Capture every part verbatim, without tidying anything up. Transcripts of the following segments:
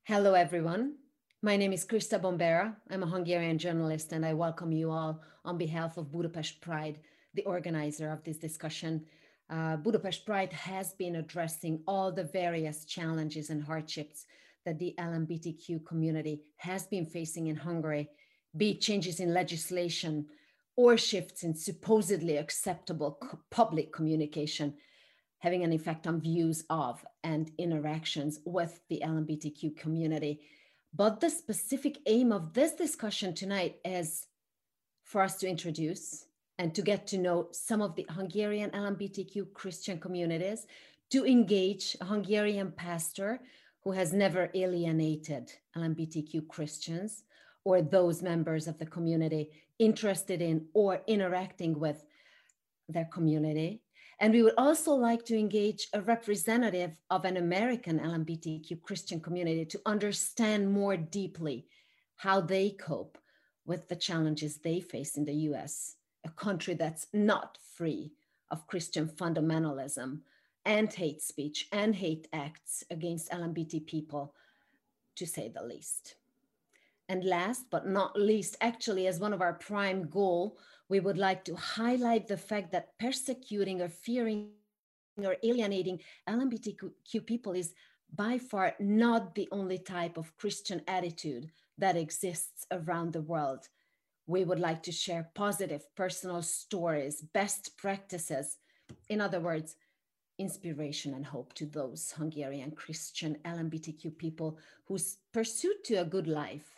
Hello, everyone. My name is Krista Bombera. I'm a Hungarian journalist, and I welcome you all on behalf of Budapest Pride, the organizer of this discussion. Uh, Budapest Pride has been addressing all the various challenges and hardships that the L G B T Q community has been facing in Hungary, be it changes in legislation or shifts in supposedly acceptable co- public communication, having an effect on views of and interactions with the L G B T Q community. But the specific aim of this discussion tonight is for us to introduce and to get to know some of the Hungarian L G B T Q Christian communities, to engage a Hungarian pastor who has never alienated L G B T Q Christians or those members of the community interested in or interacting with their community. And we would also like to engage a representative of an American L G B T Q Christian community to understand more deeply how they cope with the challenges they face in the U S, a country that's not free of Christian fundamentalism and hate speech and hate acts against L G B T people, to say the least. And last but not least, actually, as one of our prime goal, we would like to highlight the fact that persecuting or fearing or alienating L G B T Q people is by far not the only type of Christian attitude that exists around the world. We would like to share positive personal stories, best practices, in other words, inspiration and hope to those Hungarian Christian L G B T Q people whose pursuit to a good life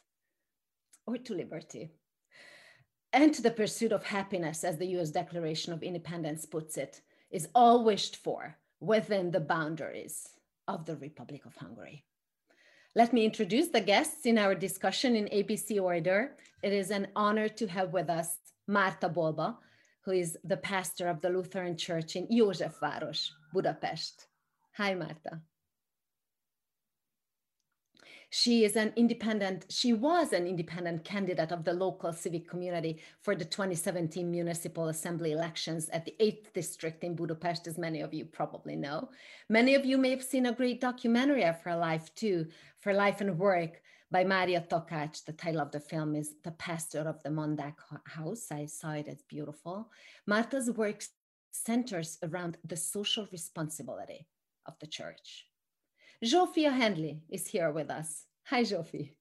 or to liberty, and to the pursuit of happiness, as the U S Declaration of Independence puts it, is all wished for within the boundaries of the Republic of Hungary. Let me introduce the guests in our discussion in A B C order. It is an honor to have with us Márta Bolba, who is the pastor of the Lutheran Church in Józsefváros, Budapest. Hi, Márta. She is an independent, she was an independent candidate of the local civic community for the twenty seventeen municipal assembly elections at the eighth district in Budapest, as many of you probably know. Many of you may have seen a great documentary of her life too, For Life and Work by Mária Takács. The title of the film is The Pastor of the Mondák House. I saw it, it's beautiful. Márta's work centers around the social responsibility of the church. Zsófia Handley is here with us. Hi, Zsófi.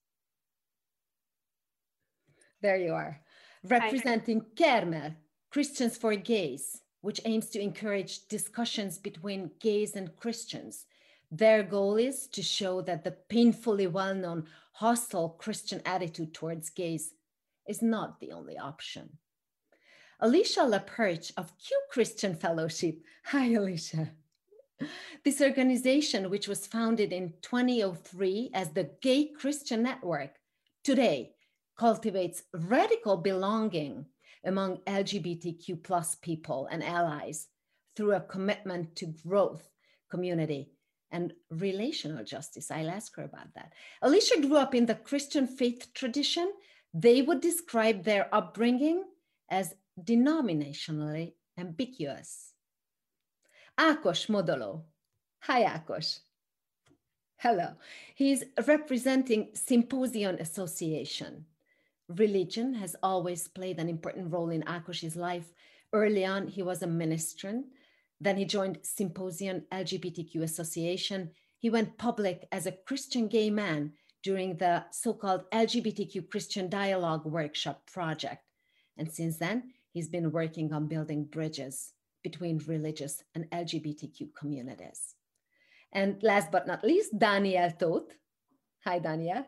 There you are. Representing Kermel, Christians for Gays, which aims to encourage discussions between gays and Christians. Their goal is to show that the painfully well-known hostile Christian attitude towards gays is not the only option. Alicia Laperche of Q Christian Fellowship. Hi, Alicia. This organization, which was founded in twenty oh three as the Gay Christian Network, today cultivates radical belonging among L G B T Q plus people and allies through a commitment to growth, community, and relational justice. I'll ask her about that. Alicia grew up in the Christian faith tradition. They would describe their upbringing as denominationally ambiguous. Ákos Modoló. Hi, Ákos. Hello. He's representing Symposium Association. Religion has always played an important role in Ákos's life. Early on, he was a ministrant. Then he joined Symposium L G B T Q Association. He went public as a Christian gay man during the so-called L G B T Q Christian Dialogue Workshop project. And since then, he's been working on building bridges between religious and L G B T Q communities. And last but not least, Daniel Tóth. Hi, Daniel.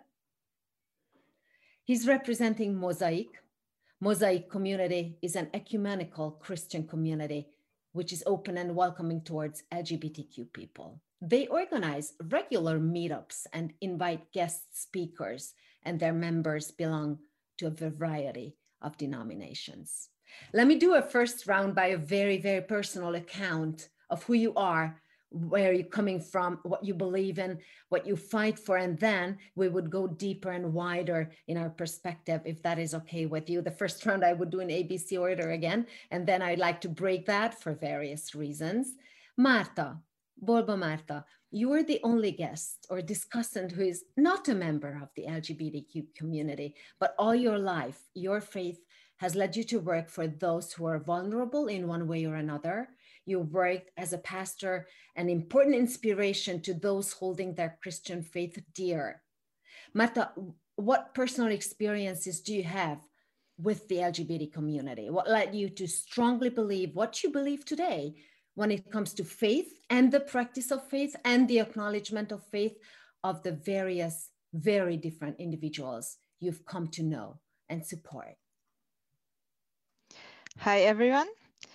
He's representing Mosaic. Mosaic community is an ecumenical Christian community which is open and welcoming towards L G B T Q people. They organize regular meetups and invite guest speakers, and their members belong to a variety of denominations. Let me do a first round by a very, very personal account of who you are, where you're coming from, what you believe in, what you fight for, and then we would go deeper and wider in our perspective, if that is okay with you. The first round I would do in A B C order again, and then I'd like to break that for various reasons. Márta, Bolba Márta, You are the only guest or discussant who is not a member of the L G B T Q community, but all your life, your faith has led you to work for those who are vulnerable in one way or another. You worked as a pastor, an important inspiration to those holding their Christian faith dear. Marta, what personal experiences do you have with the L G B T community? What led you to strongly believe what you believe today when it comes to faith and the practice of faith and the acknowledgement of faith of the various, very different individuals you've come to know and support? Hi, everyone.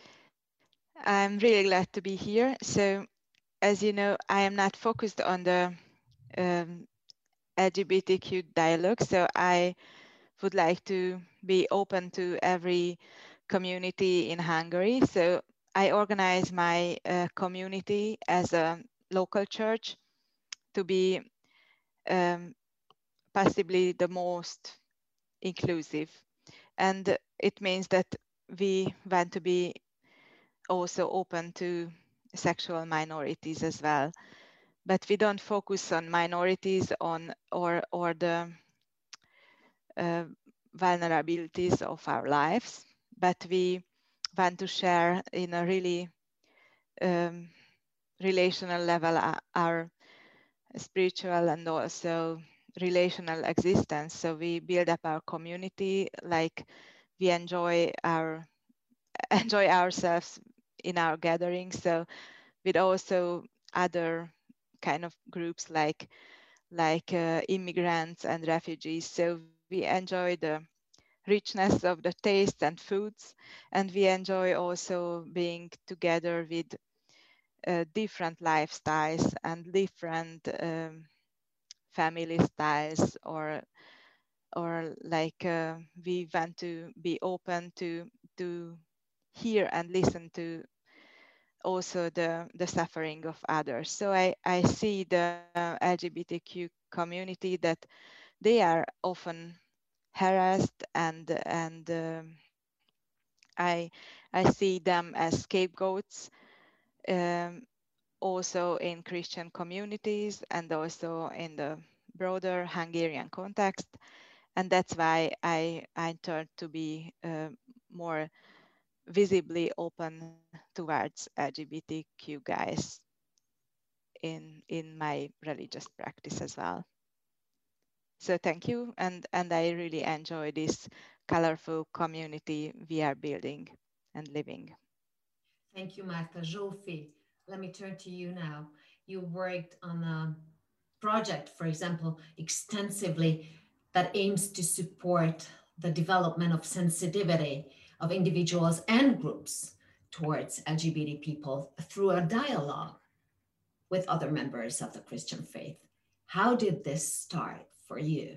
I'm really glad to be here. So, as you know, I am not focused on the um, L G B T Q dialogue. So I would like to be open to every community in Hungary. So I organize my uh, community as a local church to be um, possibly the most inclusive. And it means that we want to be also open to sexual minorities as well. But we don't focus on minorities on or or the uh, vulnerabilities of our lives, but we want to share in a really um, relational level uh, our spiritual and also relational existence. So we build up our community, like we enjoy our enjoy ourselves in our gatherings. So with also other kind of groups like like uh, immigrants and refugees. So we enjoy the richness of the taste and foods, and we enjoy also being together with uh, different lifestyles and different um, family styles, or or like uh, we want to be open to to hear and listen to also the, the suffering of others. So I, I see the L G B T Q community that they are often harassed and and um, I I see them as scapegoats, um, also in Christian communities and also in the broader Hungarian context, and that's why I I turned to be uh, more visibly open towards L G B T Q guys in in my religious practice as well. So thank you, and and I really enjoy this colorful community we are building and living. Thank you, Marta. Zsófi, let me turn to you now. You worked on a project, for example, extensively that aims to support the development of sensitivity of individuals and groups towards L G B T people through a dialogue with other members of the Christian faith. How did this start for you?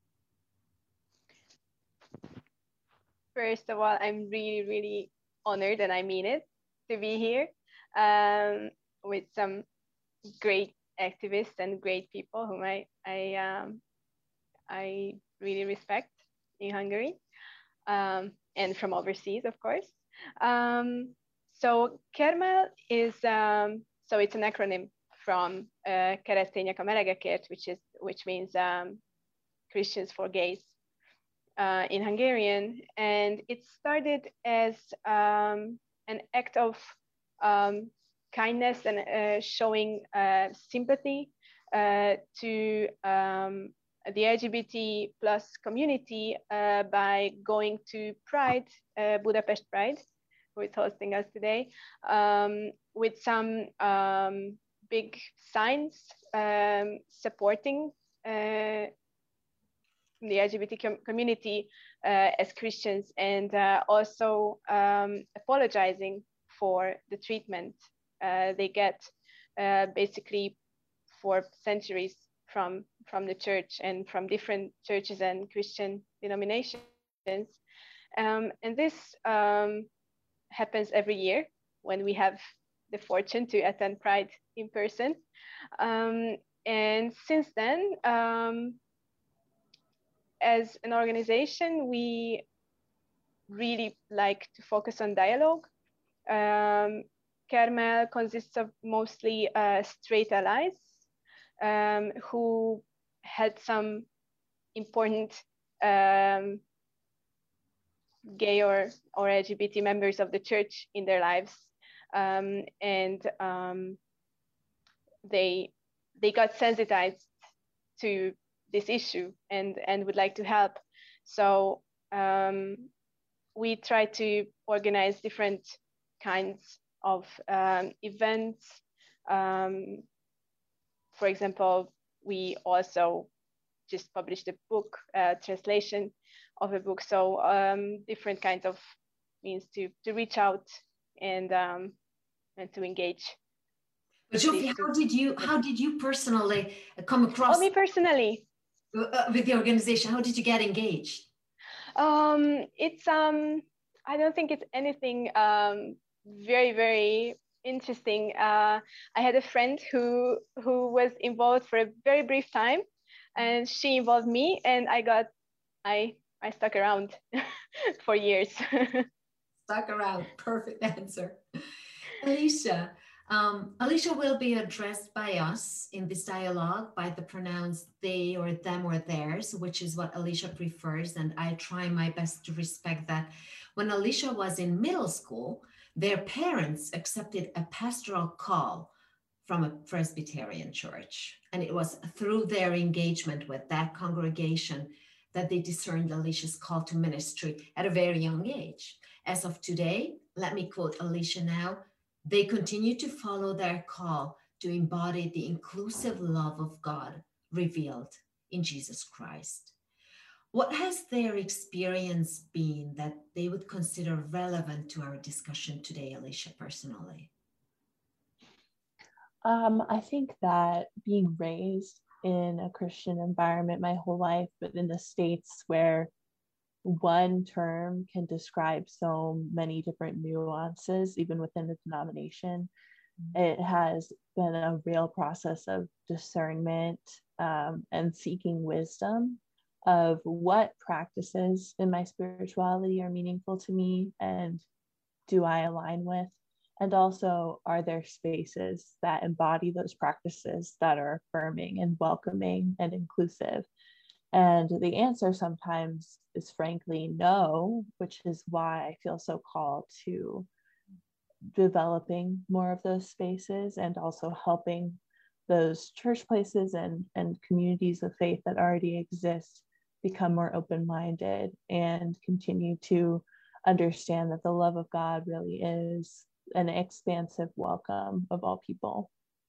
First of all, I'm really, really honored, and I mean it, to be here um, with some great activists and great people whom I I um, I really respect in Hungary, um, and from overseas, of course. Um, so Kermel is um, so it's an acronym from uh, Keresztények a melegekért, which is which means um, Christians for gays uh, in Hungarian, and it started as um, an act of um, kindness and uh, showing uh, sympathy uh, to um, the L G B T plus community uh, by going to Pride, uh, Budapest Pride, who is hosting us today, um, with some um, big signs um, supporting uh, the L G B T com- community uh, as Christians, and uh, also um, apologizing for the treatment uh, they get uh, basically for centuries from from the church and from different churches and Christian denominations. Um, and this um, happens every year when we have the fortune to attend Pride in person. Um, and since then, um, as an organization, we really like to focus on dialogue. Um, Carmel consists of mostly uh, straight allies um, who had some important um, gay or, or L G B T members of the church in their lives. Um, and um, they, they got sensitized to this issue and, and would like to help. So um, we try to organize different kinds of um, events. Um, for example, we also just published a book, uh, translation of a book. So um, different kinds of means to, to reach out and, um, and to engage. But Zsófi, how did you, how did you personally come across? Oh, me personally? Uh, with the organization, how did you get engaged? Um, it's, um, I don't think it's anything um, very, very interesting. Uh, I had a friend who, who was involved for a very brief time, and she involved me, and I got, I, I stuck around for years. Stuck around, perfect answer. Alicia, um, Alicia will be addressed by us in this dialogue by the pronouns they or them or theirs, which is what Alicia prefers, and I try my best to respect that. When Alicia was in middle school, their parents accepted a pastoral call from a Presbyterian church, and it was through their engagement with that congregation that they discerned Alicia's call to ministry at a very young age. As of today, let me quote Alicia now, they continue to follow their call to embody the inclusive love of God revealed in Jesus Christ. What has their experience been that they would consider relevant to our discussion today, Alicia, personally? Um, I think that being raised in a Christian environment my whole life, but in the States where one term can describe so many different nuances, even within the denomination, it has been a real process of discernment um, and seeking wisdom of what practices in my spirituality are meaningful to me and do I align with. And also, are there spaces that embody those practices that are affirming and welcoming and inclusive? And the answer sometimes is frankly no, which is why I feel so called to developing more of those spaces and also helping those church places and, and communities of faith that already exist become more open-minded and continue to understand that the love of God really is an expansive welcome of all people.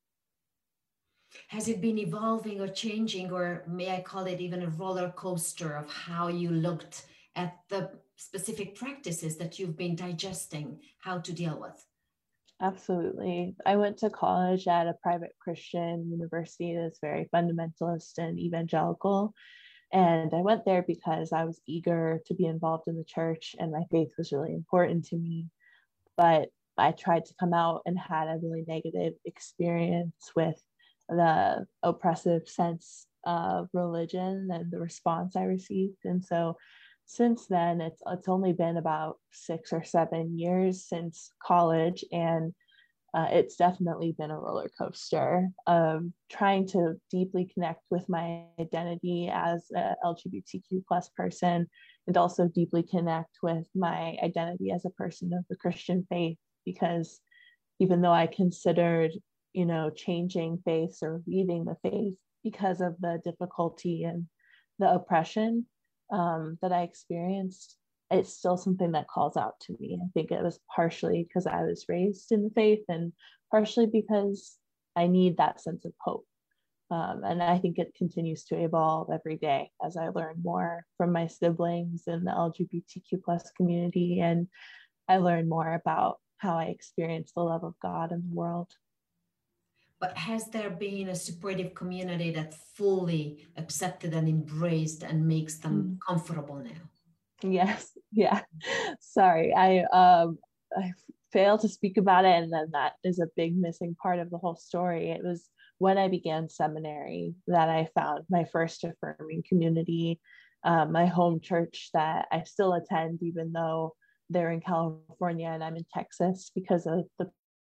Has it been evolving or changing, or may I call it even a roller coaster of how you looked at the specific practices that you've been digesting, how to deal with? Absolutely. I went to college at a private Christian university that's very fundamentalist and evangelical. And I went there because I was eager to be involved in the church and my faith was really important to me. But I tried to come out and had a really negative experience with the oppressive sense of religion and the response I received. And so since then, it's it's only been about six or seven years since college, and uh, it's definitely been a roller coaster of trying to deeply connect with my identity as a L G B T Q plus person, and also deeply connect with my identity as a person of the Christian faith, because even though I considered, you know, changing faiths or leaving the faith because of the difficulty and the oppression um, that I experienced, it's still something that calls out to me. I think it was partially because I was raised in the faith and partially because I need that sense of hope. Um, and I think it continues to evolve every day as I learn more from my siblings in the L G B T Q plus community, and I learn more about how I experience the love of God in the world. But has there been a supportive community that fully accepted and embraced and makes them mm. comfortable now? Yes. Yeah. Sorry. I, um, I failed to speak about it. And then that is a big missing part of the whole story. It was when I began seminary that I found my first affirming community, um, my home church that I still attend, even though they're in California and I'm in Texas because of the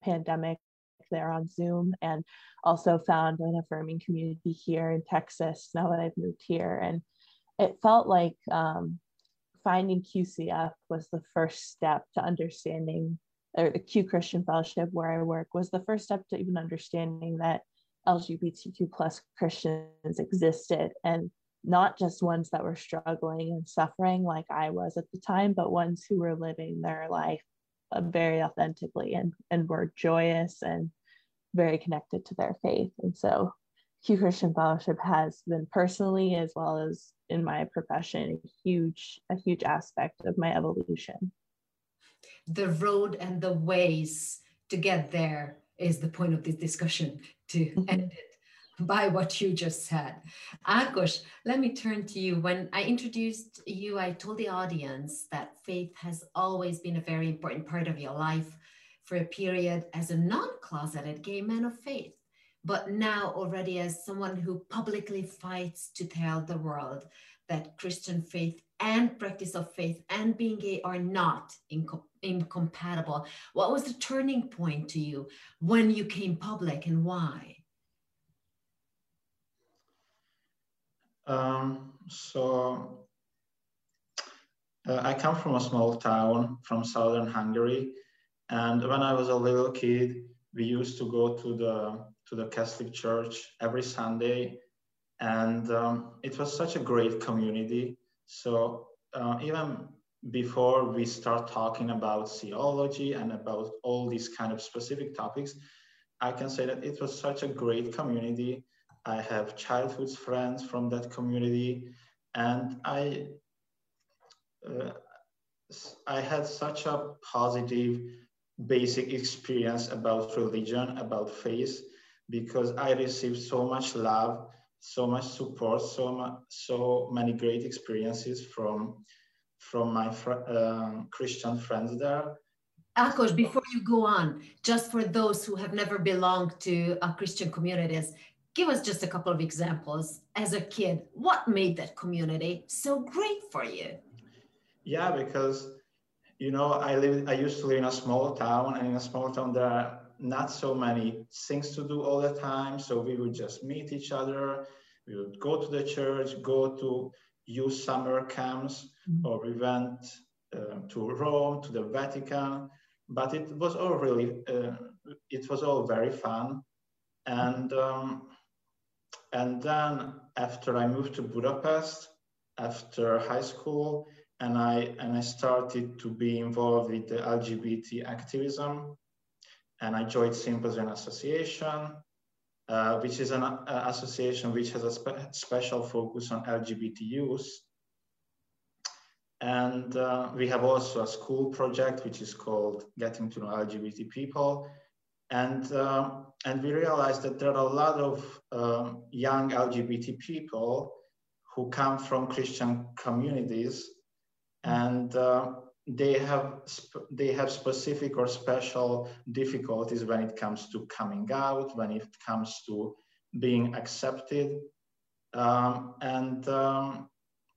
pandemic there on Zoom, and also found an affirming community here in Texas now that I've moved here. And it felt like um, finding Q C F was the first step to understanding, or the Q Christian Fellowship where I work was the first step to even understanding that L G B T Q plus Christians existed, and not just ones that were struggling and suffering like I was at the time, but ones who were living their life uh, very authentically and, and were joyous and very connected to their faith. And so Q Christian Fellowship has been personally, as well as in my profession, a huge, a huge aspect of my evolution. The road and the ways to get there is the point of this discussion, to end it by what you just said. Ákos, let me turn to you. When I introduced you, I told the audience that faith has always been a very important part of your life for a period as a non-closeted gay man of faith, but now already as someone who publicly fights to tell the world that Christian faith and practice of faith and being gay are not inco- incompatible. What was the turning point to you when you came public, and why? Um, so uh, I come from a small town from southern Hungary, and when I was a little kid, we used to go to the to the Catholic Church every Sunday, and um, it was such a great community. So uh, even before we start talking about theology and about all these kind of specific topics, I can say that it was such a great community. I have childhood friends from that community, and I uh, I had such a positive basic experience about religion, about faith, because I received so much love, so much support, so much, so many great experiences from from my fr- uh, Christian friends there. Ákos, before you go on, just for those who have never belonged to uh, Christian communities, give us just a couple of examples. As a kid, what made that community so great for you? Yeah, because, you know, I live, I used to live in a small town, and in a small town there are not so many things to do all the time. So we would just meet each other. We would go to the church, go to youth summer camps, mm-hmm. or we went uh, to Rome, to the Vatican. But it was all really, uh, it was all very fun. And um, and then after I moved to Budapest, after high school, and I and I started to be involved with the L G B T activism, and I joined Symposium Association, uh, which is an uh, association which has a spe- special focus on L G B T youth. And uh, we have also a school project which is called Getting to Know L G B T People. And, uh, and we realized that there are a lot of um, young L G B T people who come from Christian communities, and uh, they have sp- they have specific or special difficulties when it comes to coming out, when it comes to being accepted, um, and um,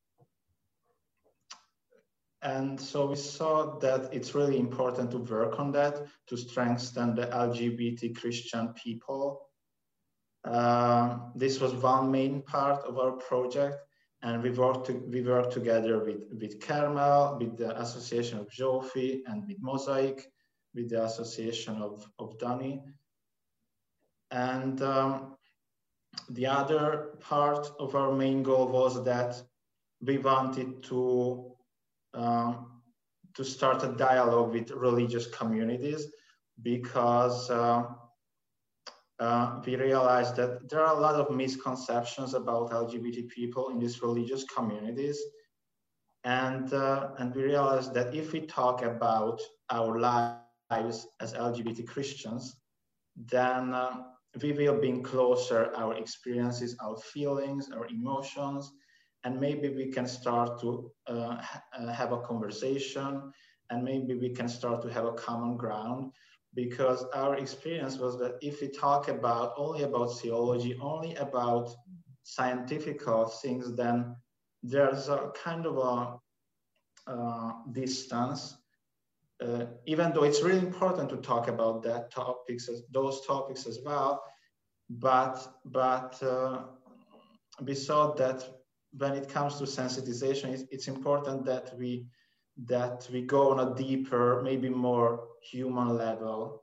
and so we saw that it's really important to work on that, to strengthen the L G B T Christian people. Uh, this was one main part of our project. And we worked to, we worked together with, with Carmel, with the Association of Zsófi, and with Mosaic, with the Association of, of Dani. And um, the other part of our main goal was that we wanted to, um, to start a dialogue with religious communities, because uh, Uh, we realized that there are a lot of misconceptions about L G B T people in these religious communities. And, uh, and we realized that if we talk about our lives as L G B T Christians, then uh, we will bring closer our experiences, our feelings, our emotions, and maybe we can start to uh, ha- have a conversation, and maybe we can start to have a common ground. Because our experience was that if we talk about only about theology, only about scientific things, then there's a kind of a uh, distance uh, even though it's really important to talk about that topics, those topics as well, but but uh, we saw that when it comes to sensitization, it's, it's important that we that we go on a deeper, maybe more human level.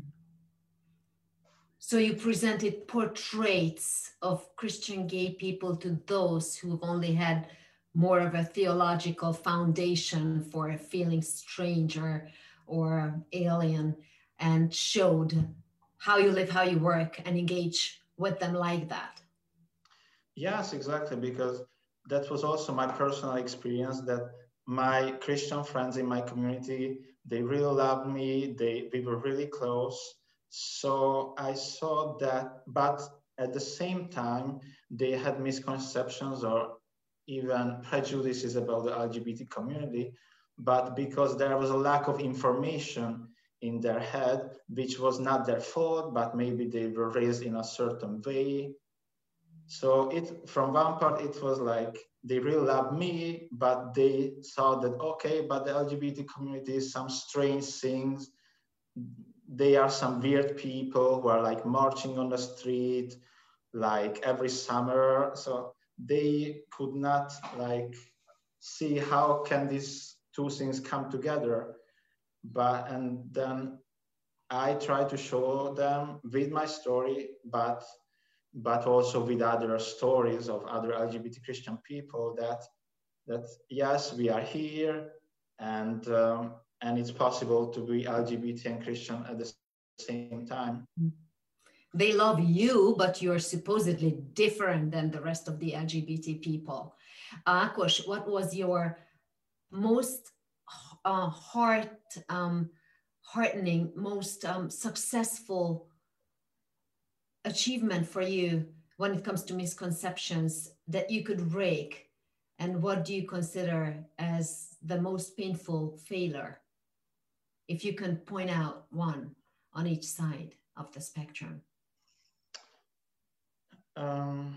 So you presented portraits of Christian gay people to those who've only had more of a theological foundation for feeling strange or, or alien, and showed how you live, how you work, and engage with them like that. Yes, exactly, because that was also my personal experience, that my Christian friends in my community, they really loved me, they, we were really close. So I saw that, but at the same time, they had misconceptions or even prejudices about the L G B T community, but because there was a lack of information in their head, which was not their fault, but maybe they were raised in a certain way. So it, from one part, it was like, they really loved me, but they saw that, okay, but the L G B T community is some strange things. They are some weird people who are like marching on the street, like every summer. So they could not like see how can these two things come together. But, and then I try to show them with my story, but but also with other stories of other L G B T Christian people, that that yes, we are here, and um, and it's possible to be L G B T and Christian at the same time. They love you, but you're supposedly different than the rest of the L G B T people. Uh, Ákos, what was your most uh, heart um, heartening, most um, successful achievement for you when it comes to misconceptions that you could break? And what do you consider as the most painful failure? If you can point out one on each side of the spectrum. Um,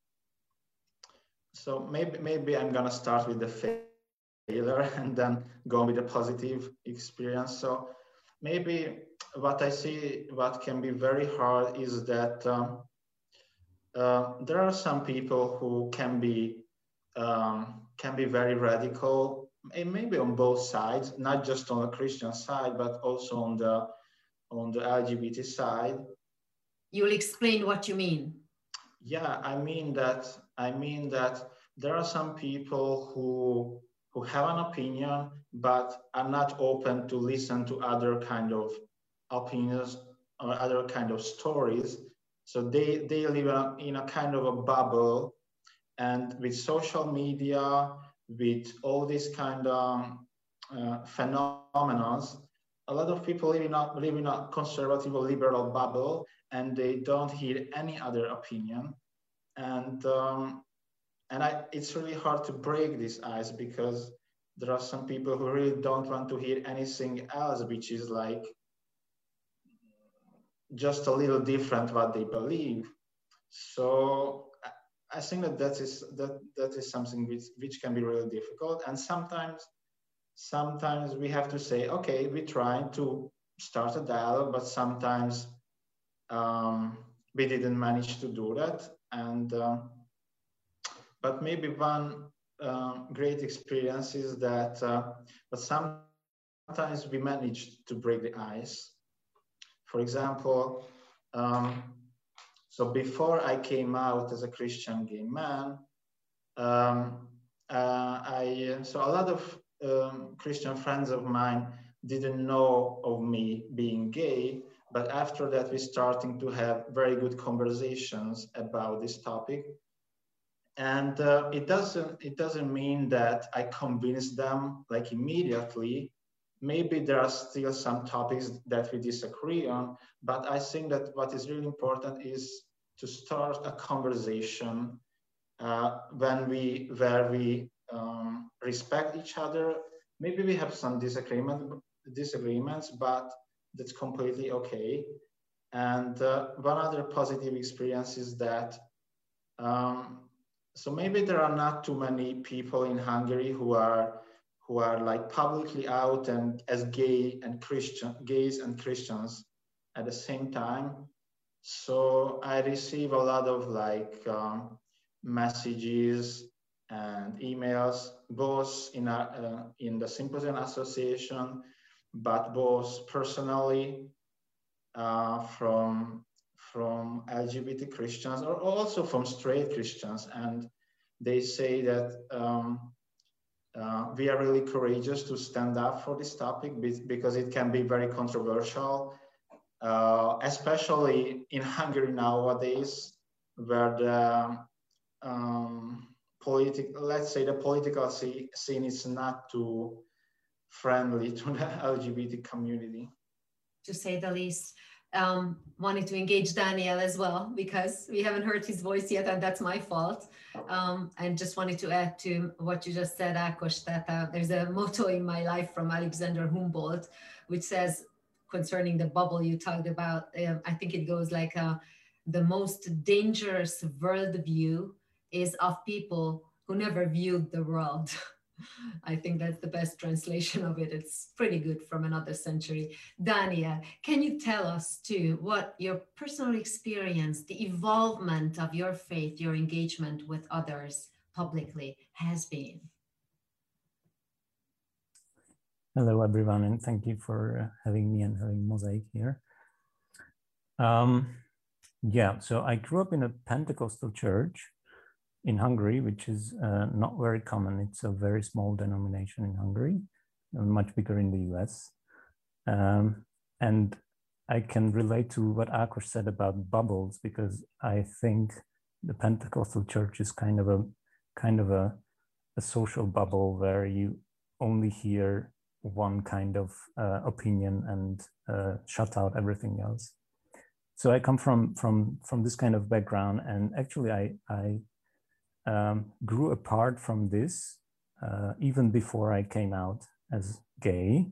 so maybe maybe I'm gonna start with the failure and then go with the positive experience. So maybe what I see, what can be very hard is that um, uh, there are some people who can be um, can be very radical, and maybe on both sides, not just on the Christian side, but also on the on the L G B T side. You'll explain what you mean. Yeah, I mean that I mean that there are some people who who have an opinion but are not open to listen to other kind of opinions or other kind of stories. So they they live in a kind of a bubble, and with social media, with all these kind of uh, phenomena, a lot of people live in a live in a conservative or liberal bubble, and they don't hear any other opinion. And um, and I, it's really hard to break this ice, because there are some people who really don't want to hear anything else, which is like just a little different what they believe. So I think that that is that that is something which which can be really difficult, and sometimes sometimes we have to say, okay, we try to start a dialogue, but sometimes um, we didn't manage to do that. And uh, but maybe one uh, great experience is that, uh, but sometimes we managed to break the ice. For example, um, so before I came out as a Christian gay man, um, uh, I so a lot of um, Christian friends of mine didn't know of me being gay, but after that we starting to have very good conversations about this topic. And uh, it doesn't it doesn't mean that I convinced them like immediately. Maybe there are still some topics that we disagree on, but I think that what is really important is to start a conversation uh, when we where we um, respect each other. Maybe we have some disagreement disagreements, but that's completely okay. And uh, one other positive experience is that um, so maybe there are not too many people in Hungary who are who are like publicly out and as gay and Christian, gays and Christians at the same time. So I receive a lot of like um, messages and emails, both in, a, uh, in the Symposium Association, but both personally uh, from, from L G B T Christians or also from straight Christians. And they say that um, uh, we are really courageous to stand up for this topic because it can be very controversial, uh, especially in Hungary nowadays, where the um, political, let's say the political scene is not too friendly to the L G B T community. To say the least. Um, wanted to engage Daniel as well, because we haven't heard his voice yet, and that's my fault. Um, and just wanted to add to what you just said, Ákos, that uh, there's a motto in my life from Alexander Humboldt, which says, concerning the bubble you talked about, uh, I think it goes like, uh, the most dangerous worldview is of people who never viewed the world. I think that's the best translation of it. It's pretty good from another century. Daniel, can you tell us too what your personal experience, the evolvement of your faith, your engagement with others publicly has been? Hello, everyone, and thank you for uh, having me and having Mosaic here. Um, yeah, so I grew up in a Pentecostal church in Hungary, which is uh, not very common. It's a very small denomination in Hungary, much bigger in the U S. Um, and I can relate to what Ákos said about bubbles, because I think the Pentecostal church is kind of a kind of a, a social bubble where you only hear one kind of uh, opinion and uh, shut out everything else. So I come from from from this kind of background, and actually I I Um, grew apart from this uh, even before I came out as gay.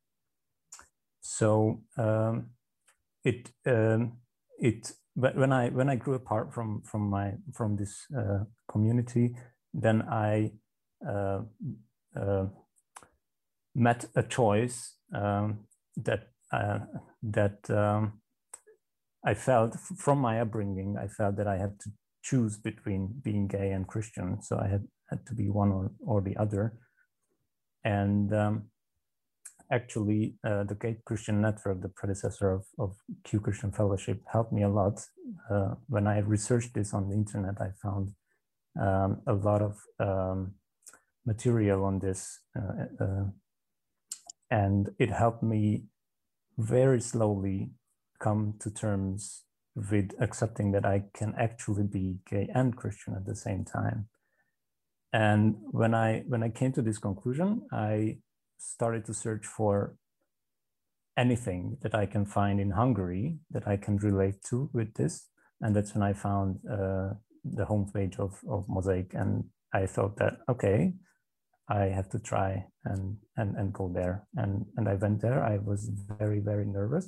So um, it um, it when I when I grew apart from from my from this uh, community, then I uh, uh, met a choice um, that uh, that um, I felt from my upbringing. I felt that I had to choose between being gay and Christian. So I had, had to be one or, or the other. And um, actually uh, the Gay Christian Network, the predecessor of, of Q Christian Fellowship, helped me a lot. Uh, when I researched this on the internet, I found um, a lot of um, material on this. Uh, uh, and it helped me very slowly come to terms with accepting that I can actually be gay and Christian at the same time. And when I when I came to this conclusion, I started to search for anything that I can find in Hungary that I can relate to with this. And that's when I found uh, the homepage of, of Mosaic, and I thought that, okay, I have to try and and, and go there. And, and I went there. I was very, very nervous.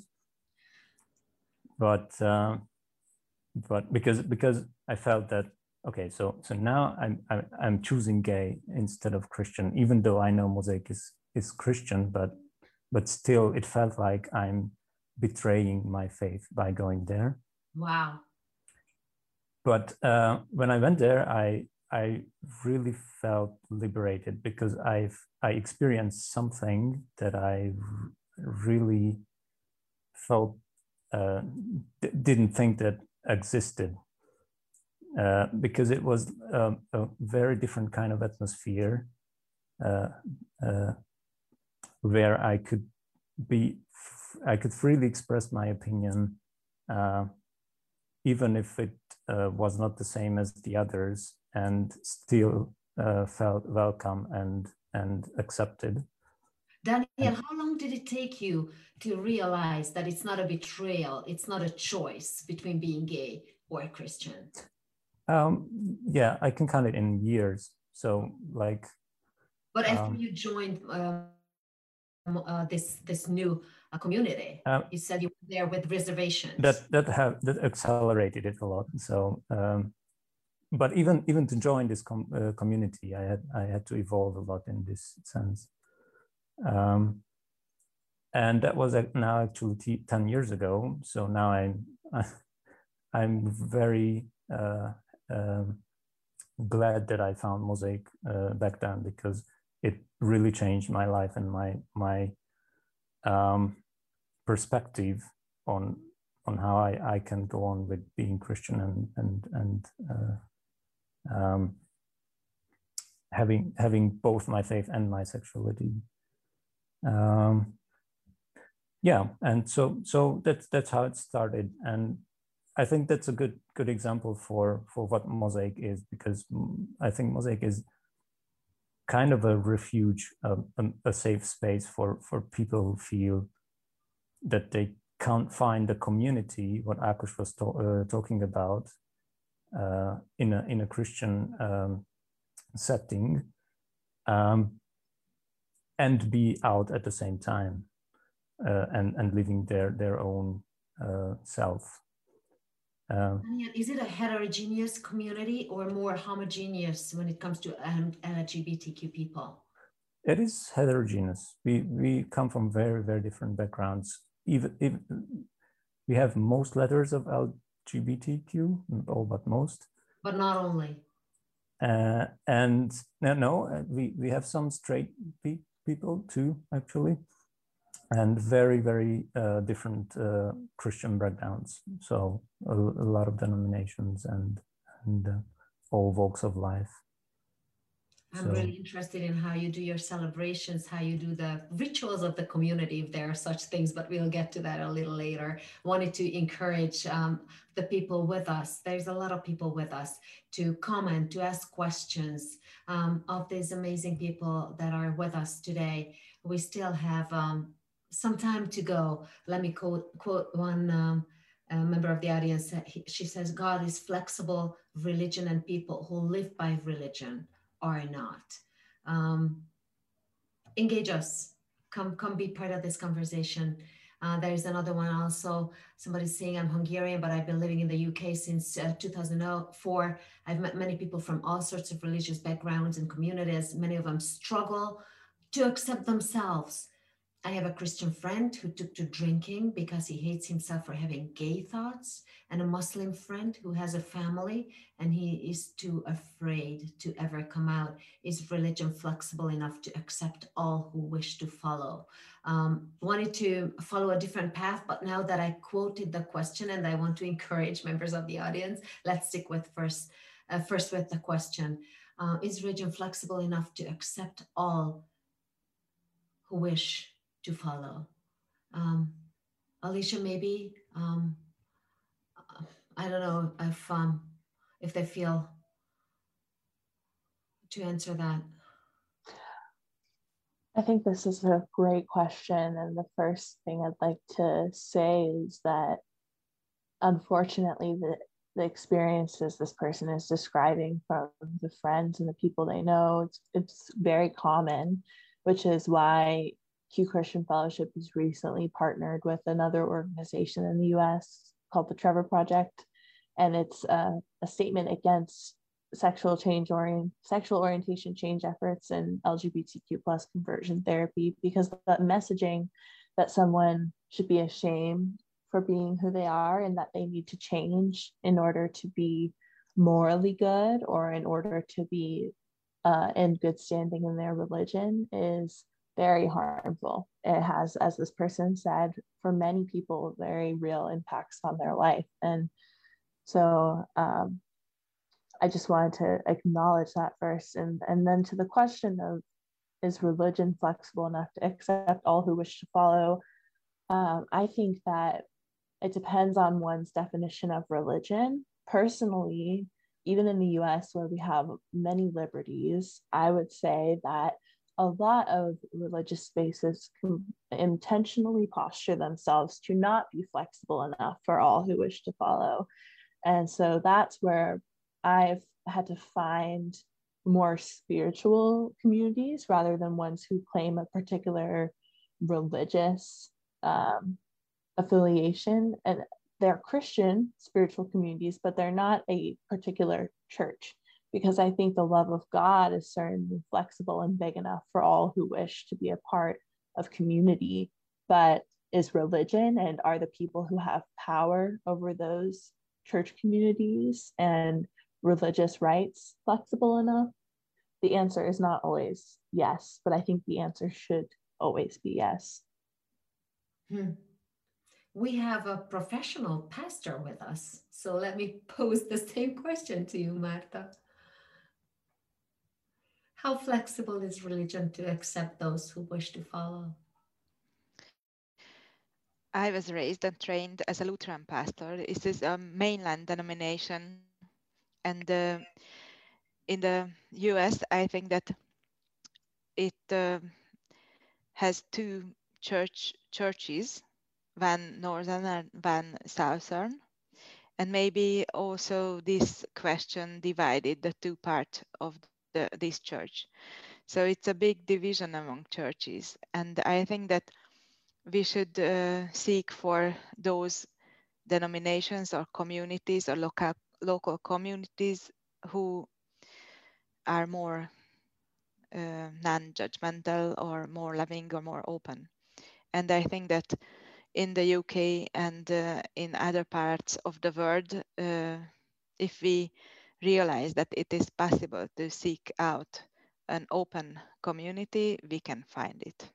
But uh, but because because I felt that, okay, so so now I'm I'm, I'm choosing gay instead of Christian, even though I know Mosaic is is Christian, but but still it felt like I'm betraying my faith by going there. Wow. But uh, when I went there, I I really felt liberated, because I've I experienced something that I really felt uh, didn't think that existed, uh, because it was um, a very different kind of atmosphere uh, uh, where I could be, I could freely express my opinion, uh, even if it uh, was not the same as the others, and still uh, felt welcome and and accepted. Daniel, how long did it take you to realize that it's not a betrayal, it's not a choice between being gay or Christian? Um, yeah, I can count it in years. So like. But after um, you joined um, uh, this this new uh, community, uh, you said you were there with reservations. That that have that accelerated it a lot. So, um, but even even to join this com uh, community, I had I had to evolve a lot in this sense. Um, and that was now actually ten years ago. So now I'm, I'm very uh, um, glad that I found Mosaic uh, back then, because it really changed my life and my, my um, perspective on on how I, I can go on with being Christian and and and uh, um, having having both my faith and my sexuality. Um, yeah, and so so that's that's how it started, and I think that's a good good example for for what Mosaic is, because I think Mosaic is kind of a refuge, a, a safe space for for people who feel that they can't find the community, what Akush was to, uh, talking about, uh, in a in a Christian um, setting, um, and be out at the same time, uh, and and living their their own uh, self. Uh, Is it a heterogeneous community or more homogeneous when it comes to um, L G B T Q people? It is heterogeneous. We we come from very very different backgrounds. Even, even we have most letters of L G B T Q, not all but most. But not only. Uh, and no, no, we we have some straight pe people too, actually, and very very uh, different uh, Christian backgrounds. So a, a lot of denominations and and uh, all walks of life. I'm So, really interested in how you do your celebrations, how you do the rituals of the community, if there are such things, but we'll get to that a little later. Wanted to encourage um, the people with us. There's a lot of people with us to comment, to ask questions um, of these amazing people that are with us today. We still have um, some time to go. Let me quote, quote one um, a member of the audience. She says, God is flexible, religion and people who live by religion are not. Um, engage us. Come, come be part of this conversation. Uh, there's another one also. Somebody's saying I'm Hungarian, but I've been living in the U K since uh, two thousand four. I've met many people from all sorts of religious backgrounds and communities. Many of them struggle to accept themselves. I have a Christian friend who took to drinking because he hates himself for having gay thoughts, and a Muslim friend who has a family and he is too afraid to ever come out. Is religion flexible enough to accept all who wish to follow? Um, wanted to follow a different path, but now that I quoted the question and I want to encourage members of the audience, let's stick with first, uh, first with the question. Uh, is religion flexible enough to accept all who wish to follow? Um, Alicia, maybe, um, I don't know if, um, if they feel to answer that. I think this is a great question. And the first thing I'd like to say is that unfortunately, the, the experiences this person is describing from the friends and the people they know, it's, it's very common, which is why Q Christian Fellowship has recently partnered with another organization in the U S called the Trevor Project. And it's a, a statement against sexual change orient, sexual orientation change efforts and L G B T Q plus conversion therapy, because that messaging that someone should be ashamed for being who they are and that they need to change in order to be morally good or in order to be uh, in good standing in their religion is very harmful. It has, as this person said, for many people, very real impacts on their life. And so um, I just wanted to acknowledge that first. And, and then to the question of, is religion flexible enough to accept all who wish to follow? Um, I think that it depends on one's definition of religion. Personally, even in the U S where we have many liberties, I would say that a lot of religious spaces can intentionally posture themselves to not be flexible enough for all who wish to follow. And so that's where I've had to find more spiritual communities rather than ones who claim a particular religious um, affiliation. And they're Christian spiritual communities, but they're not a particular church, because I think the love of God is certainly flexible and big enough for all who wish to be a part of community, but is religion and are the people who have power over those church communities and religious rights flexible enough? The answer is not always yes, but I think the answer should always be yes. Hmm. We have a professional pastor with us, so let me pose the same question to you, Marta. How flexible is religion to accept those who wish to follow? I was raised and trained as a Lutheran pastor. This is a mainland denomination, and uh, in the U S, I think that it uh, has two church churches, one northern and one southern, and maybe also this question divided the two parts of the, this church. So it's a big division among churches, and I think that we should uh, seek for those denominations or communities or local local communities who are more uh, non-judgmental or more loving or more open. And I think that in the U K and uh, in other parts of the world, uh, if we realize that it is possible to seek out an open community, we can find it.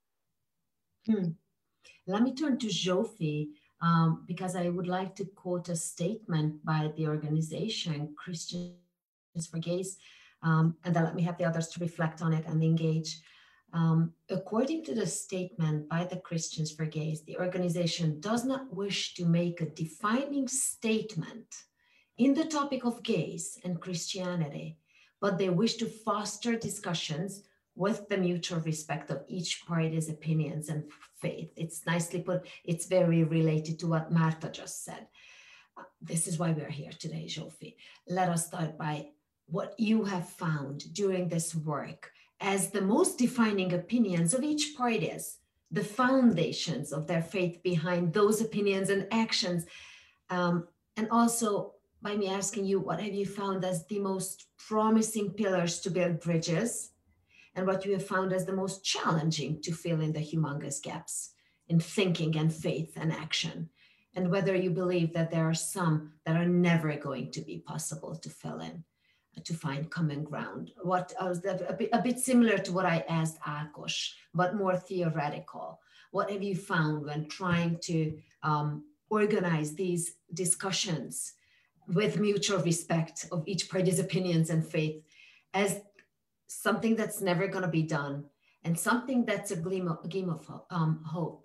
Hmm. Let me turn to Zsófi, um, because I would like to quote a statement by the organization Christians for Gays, um, and then let me have the others to reflect on it and engage. Um, according to the statement by the Christians for Gays, the organization does not wish to make a defining statement in the topic of gays and Christianity, but they wish to foster discussions with the mutual respect of each party's opinions and faith. It's nicely put. It's very related to what Marta just said. Uh, this is why we're here today, Zsófi. Let us start by what you have found during this work as the most defining opinions of each parties, the foundations of their faith behind those opinions and actions. Um, and also by me asking you, what have you found as the most promising pillars to build bridges, and what you have found as the most challenging to fill in the humongous gaps in thinking and faith and action, and whether you believe that there are some that are never going to be possible to fill in, to find common ground. What uh, a, bit, a bit similar to what I asked Ákos, but more theoretical. What have you found when trying to um, organize these discussions with mutual respect of each party's opinions and faith as something that's never going to be done, and something that's a gleam of, a gleam of um, hope?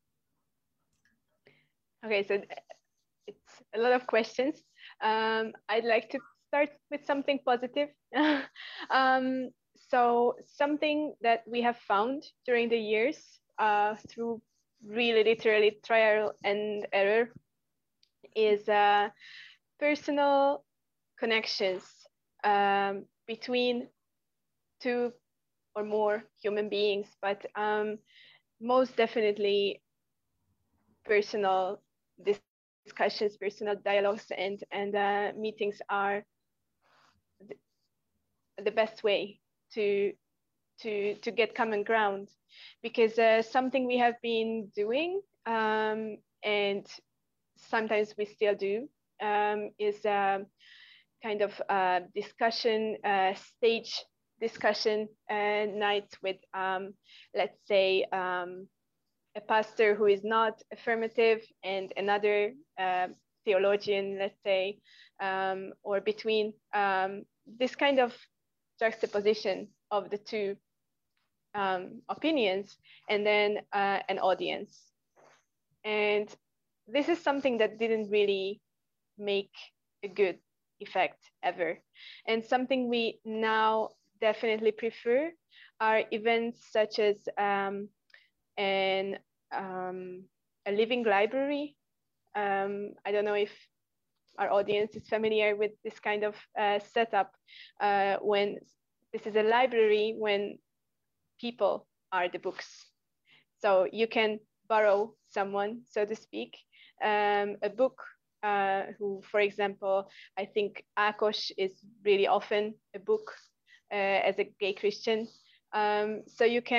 Okay, so it's a lot of questions. Um, I'd like to start with something positive. um, so something that we have found during the years uh, through really literally trial and error is uh, personal connections um, between two or more human beings, but um, most definitely personal discussions, personal dialogues, and and uh, meetings are the, the best way to to to get common ground, because uh, something we have been doing um, and sometimes we still do um, is um, kind of uh, discussion uh, stage discussion uh, nights with, um, let's say, um, a pastor who is not affirmative and another uh, theologian, let's say, um, or between um, this kind of juxtaposition of the two um, opinions, and then uh, an audience. And this is something that didn't really make a good effect ever. And something we now definitely prefer are events such as um, an, um, a living library. Um, I don't know if our audience is familiar with this kind of uh, setup, uh, when this is a library when people are the books. So you can borrow someone, so to speak, um, a book uh, who, for example, I think Ákos is really often a book uh, as a gay Christian. Um, so you can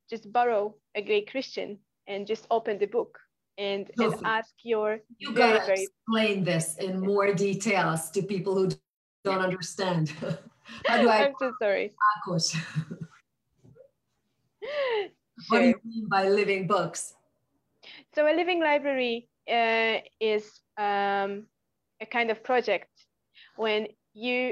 just borrow a great Christian and just open the book and, and ask your you very, gotta very explain this in more details to people who don't understand. How do I? I'm so sorry. Ákos. Sure. What do you mean by living books? So a living library uh, is um, a kind of project when you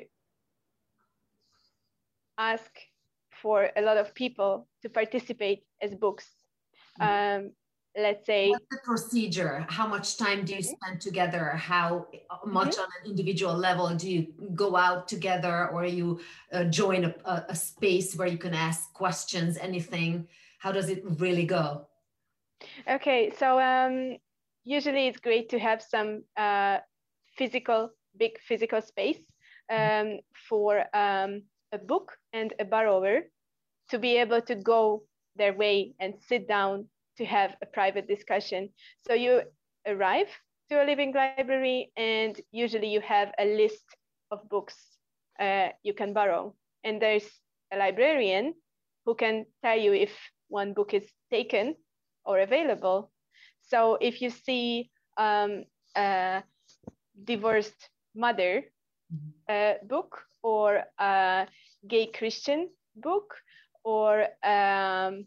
ask for a lot of people to participate as books. Um, let's say. What's the procedure? How much time do you spend together? How much mm-hmm. on an individual level do you go out together, or you uh, join a, a, a space where you can ask questions, anything? How does it really go? Okay, so um, usually it's great to have some uh, physical, big physical space um, for um, a book and a borrower to be able to go their way and sit down to have a private discussion. So you arrive to a living library and usually you have a list of books uh, you can borrow. And there's a librarian who can tell you if one book is taken or available. So if you see um, a divorced mother uh, book or a gay Christian book or um,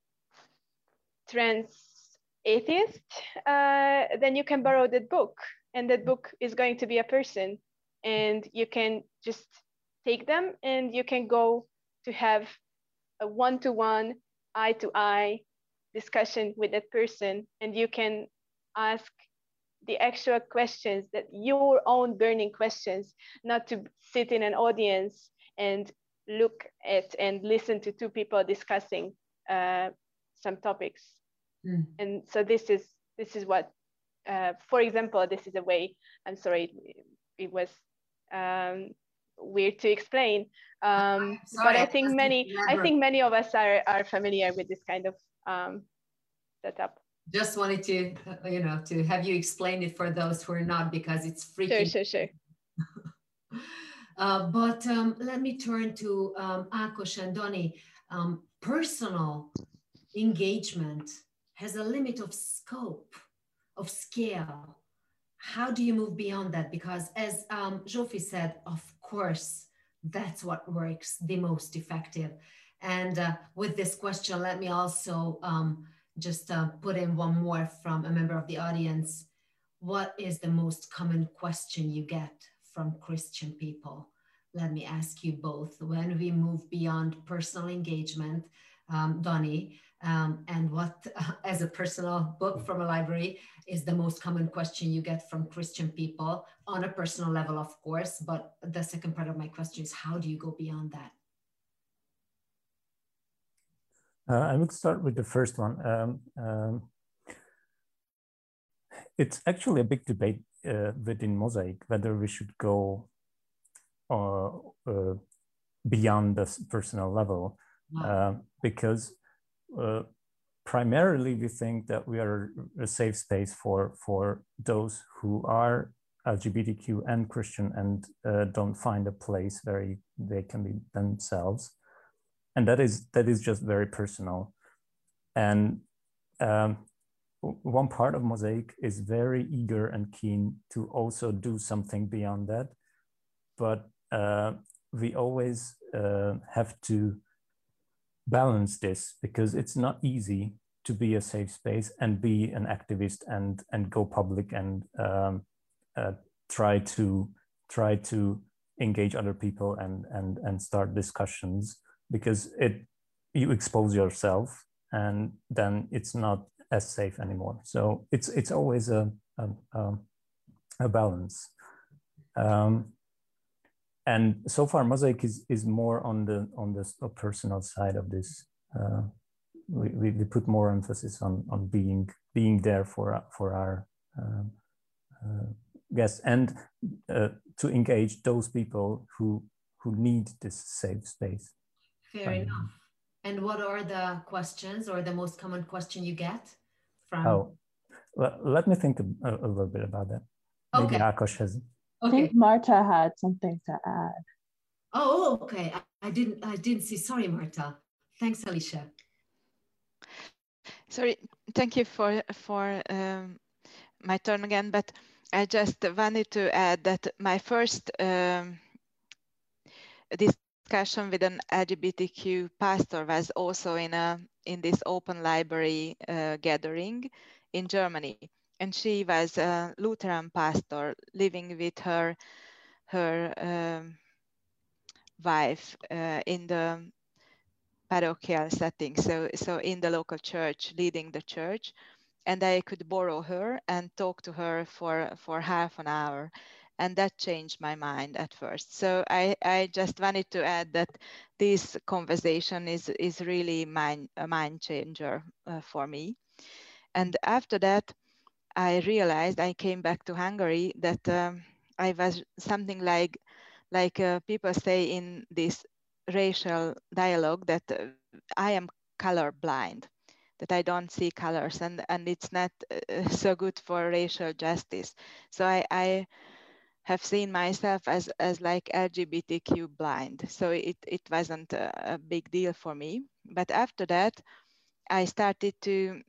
trans atheist, uh, then you can borrow that book, and that book is going to be a person, and you can just take them and you can go to have a one-to-one, eye-to-eye discussion with that person, and you can ask the actual questions, that your own burning questions, not to sit in an audience and look at and listen to two people discussing uh, some topics. Mm. And so this is this is what, uh, for example, this is a way. I'm sorry, it, it was um, weird to explain, um, sorry, but I think many I think many of us are are familiar with this kind of um, setup. Just wanted to, you know, to have you explain it for those who are not, because it's freaking. Sure, sure, sure. uh, but um, let me turn to um, Ákos and Donny. Um, personal engagement has a limit of scope, of scale. How do you move beyond that? Because as um, Zsófi said, of course, that's what works the most effective. And uh, with this question, let me also um, just uh, put in one more from a member of the audience. What is the most common question you get from Christian people? Let me ask you both. When we move beyond personal engagement, um, Donny, um, and what, uh, as a personal book from a library, is the most common question you get from Christian people on a personal level, of course, but the second part of my question is, how do you go beyond that? Uh, I would start with the first one. Um, um, it's actually a big debate uh, within Mosaic whether we should go uh, uh, beyond the personal level, wow. uh, because uh, primarily we think that we are a safe space for, for those who are L G B T Q and Christian and uh, don't find a place where you, they can be themselves. And that is that is just very personal. And um, one part of Mosaic is very eager and keen to also do something beyond that. But uh, we always uh, have to balance this, because it's not easy to be a safe space and be an activist and and go public and um, uh, try to try to engage other people and and and start discussions. Because it, you expose yourself, and then it's not as safe anymore. So it's it's always a a, a balance. Um, and so far, Mosaic is is more on the on the personal side of this. Uh, we, we we put more emphasis on on being being there for for our uh, uh, guests, and uh, to engage those people who who need this safe space. Fair um, enough. And what are the questions, or the most common question you get from? Oh, well, let me think a, a little bit about that. Maybe okay. Ákos has. Okay. I think Marta had something to add. Oh, okay. I, I didn't. I didn't see. Sorry, Marta. Thanks, Alicia. Sorry, thank you for for um, my turn again, but I just wanted to add that my first um, discussion with an L G B T Q pastor was also in a in this open library uh, gathering in Germany, and she was a Lutheran pastor living with her her um, wife uh, in the parochial setting, so so in the local church, leading the church. And I could borrow her and talk to her for, for half an hour. And that changed my mind at first. So I, I just wanted to add that this conversation is, is really mind, a mind changer uh, for me. And after that, I realized, I came back to Hungary, that um, I was something like, like uh, people say in this racial dialogue, that uh, I am color blind, that I don't see colors, and, and it's not uh, so good for racial justice. So I, I have seen myself as, as like L G B T Q blind. So it, it wasn't a, a big deal for me. But after that, I started to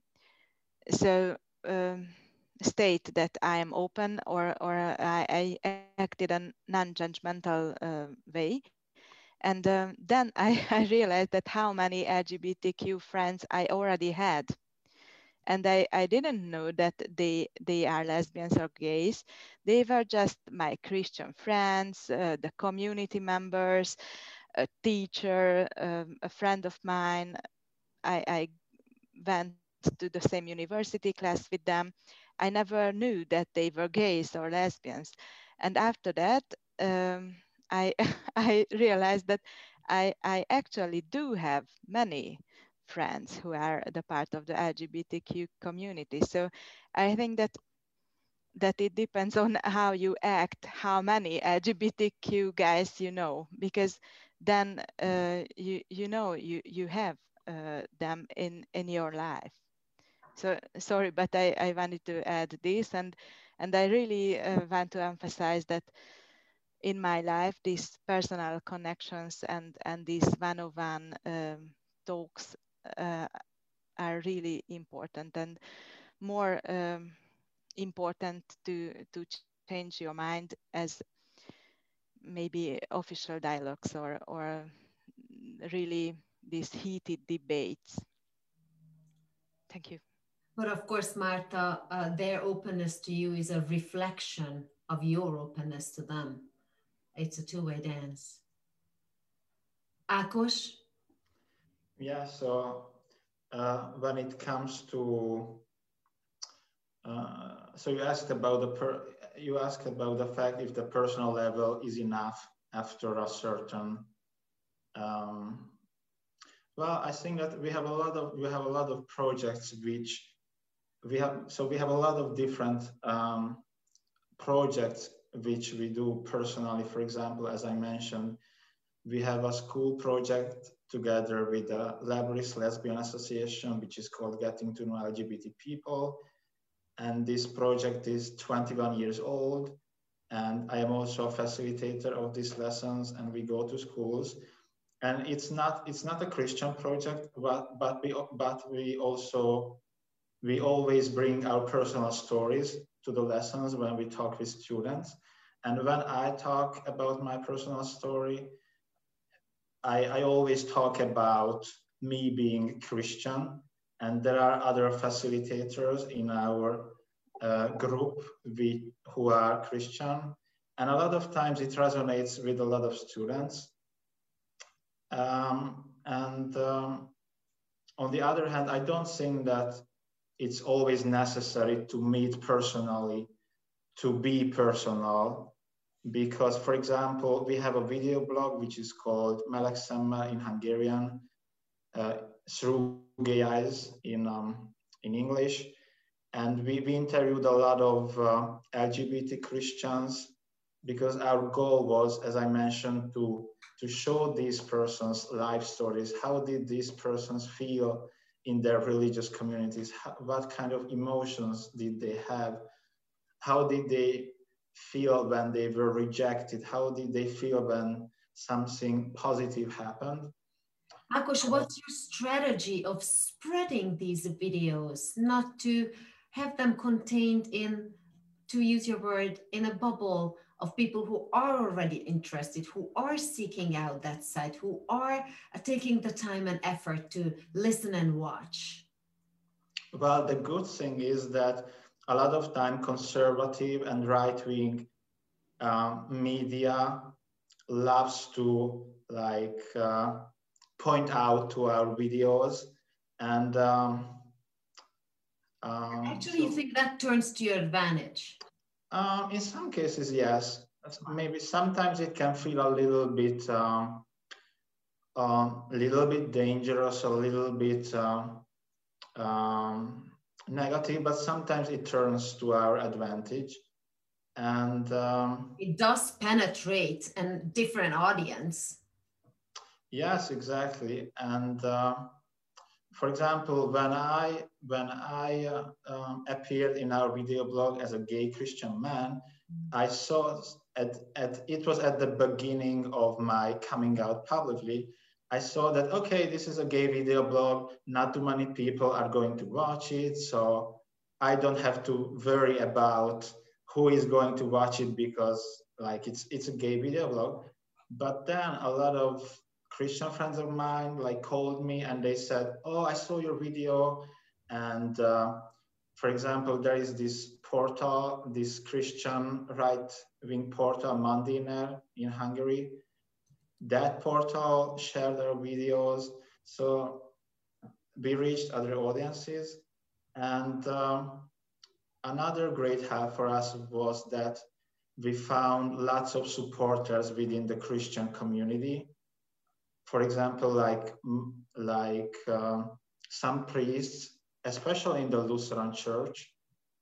so um, state that I am open, or, or I, I acted in a non-judgmental uh, way. And um, then I, I realized that how many L G B T Q friends I already had. And I, I didn't know that they they are lesbians or gays. They were just my Christian friends, uh, the community members, a teacher, um, a friend of mine. I, I went to the same university class with them. I never knew that they were gays or lesbians. And after that, um, I I realized that I I actually do have many friends who are the part of the L G B T Q community. So I think that that it depends on how you act, how many L G B T Q guys you know, because then uh, you you know you you have uh, them in in your life. So sorry, but I, I wanted to add this, and and I really uh, want to emphasize that in my life, these personal connections and and these one-on-one um, talks uh, are really important, and more um, important to to change your mind as maybe official dialogues, or or really these heated debates. Thank you. But of course, Marta, uh, their openness to you is a reflection of your openness to them. It's a two-way dance. Ákos? Yeah, so uh, when it comes to, uh, so you asked about the per, you asked about the fact if the personal level is enough after a certain. Um, well, I think that we have a lot of we have a lot of projects which we have. So we have a lot of different um, projects which we do personally. For example, as I mentioned, we have a school project together with the Lebanese Lesbian Association, which is called Getting to Know L G B T People. And this project is twenty-one years old. And I am also a facilitator of these lessons, and we go to schools. And it's not it's not a Christian project, but but we but we also we always bring our personal stories to the lessons when we talk with students. And when I talk about my personal story, I, I always talk about me being Christian, and there are other facilitators in our uh, group we, who are Christian. And a lot of times it resonates with a lot of students. Um, and um, on the other hand, I don't think that it's always necessary to meet personally, to be personal, because, for example, we have a video blog which is called Meleg Szemmel in Hungarian, uh, Through Gay Eyes in, um, in English. And we, we interviewed a lot of uh, L G B T Christians, because our goal was, as I mentioned, to, to show these persons' life stories. How did these persons feel in their religious communities? How, what kind of emotions did they have? How did they feel when they were rejected? How did they feel when something positive happened? Akos, what's your strategy of spreading these videos, not to have them contained in, to use your word, in a bubble of people who are already interested, who are seeking out that site, who are taking the time and effort to listen and watch? Well, the good thing is that a lot of time conservative and right-wing um, media loves to like uh, point out to our videos, and um, um, actually so, you think that turns to your advantage? Um, in some cases, yes. Maybe sometimes it can feel a little bit, a um, um, little bit dangerous, a little bit um, um, negative, but sometimes it turns to our advantage. And um, it does penetrate a different audience. Yes, exactly. And uh, for example, when I when I uh, um, appeared in our video blog as a gay Christian man, I saw at, at it was at the beginning of my coming out publicly. I saw that, okay, this is a gay video blog. Not too many people are going to watch it, so I don't have to worry about who is going to watch it because like it's it's a gay video blog. But then a lot of Christian friends of mine like called me and they said, oh, I saw your video. And uh, for example, there is this portal, this Christian right-wing portal, Mandiner in Hungary. That portal shared our videos. So we reached other audiences. And um, another great help for us was that we found lots of supporters within the Christian community. For example, like, like uh, some priests, especially in the Lutheran Church.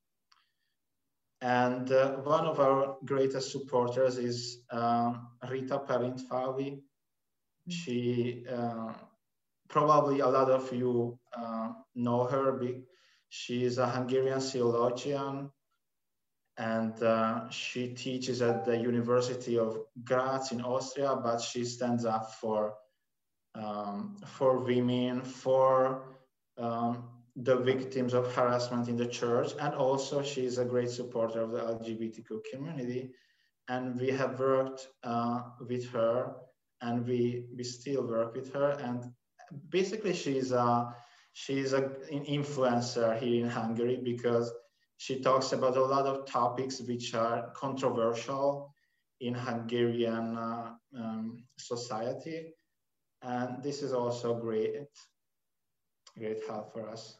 And uh, one of our greatest supporters is uh, Rita Perintfalvi. She, uh, probably a lot of you uh, know her. She is a Hungarian theologian, and uh, she teaches at the University of Graz in Austria, but she stands up for Um, for women, for um, the victims of harassment in the church. And also she is a great supporter of the L G B T Q community. And we have worked uh, with her, and we, we still work with her. And basically she's, a, she's a, an influencer here in Hungary because she talks about a lot of topics which are controversial in Hungarian uh, um, society. And this is also great, great help for us.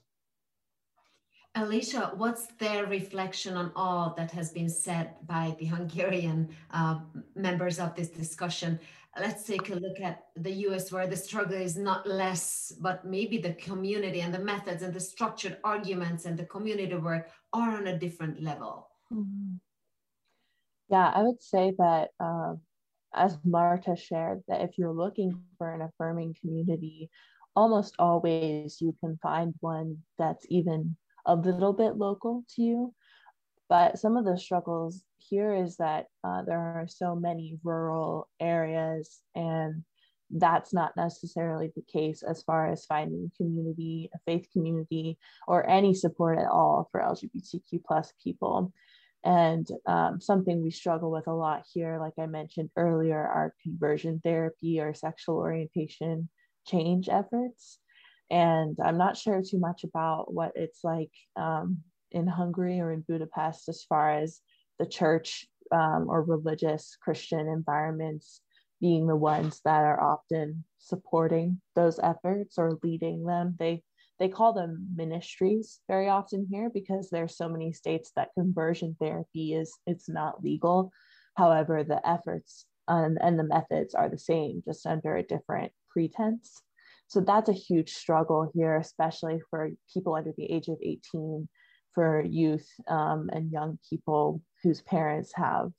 Alicia, what's their reflection on all that has been said by the Hungarian uh, members of this discussion? Let's take a look at the U S, where the struggle is not less, but maybe the community and the methods and the structured arguments and the community work are on a different level. Mm-hmm. Yeah, I would say that uh, as Marta shared, that if you're looking for an affirming community, almost always you can find one that's even a little bit local to you. But some of the struggles here is that uh, there are so many rural areas, and that's not necessarily the case as far as finding community, a faith community, or any support at all for L G B T Q plus people. And um, something we struggle with a lot here, like I mentioned earlier, are conversion therapy or sexual orientation change efforts. And I'm not sure too much about what it's like um, in Hungary or in Budapest as far as the church um, or religious Christian environments being the ones that are often supporting those efforts or leading them. They They call them ministries very often here because there's so many states that conversion therapy is it's not legal. However, the efforts and, and the methods are the same, just under a different pretense. So that's a huge struggle here, especially for people under the age of eighteen, for youth um, and young people whose parents have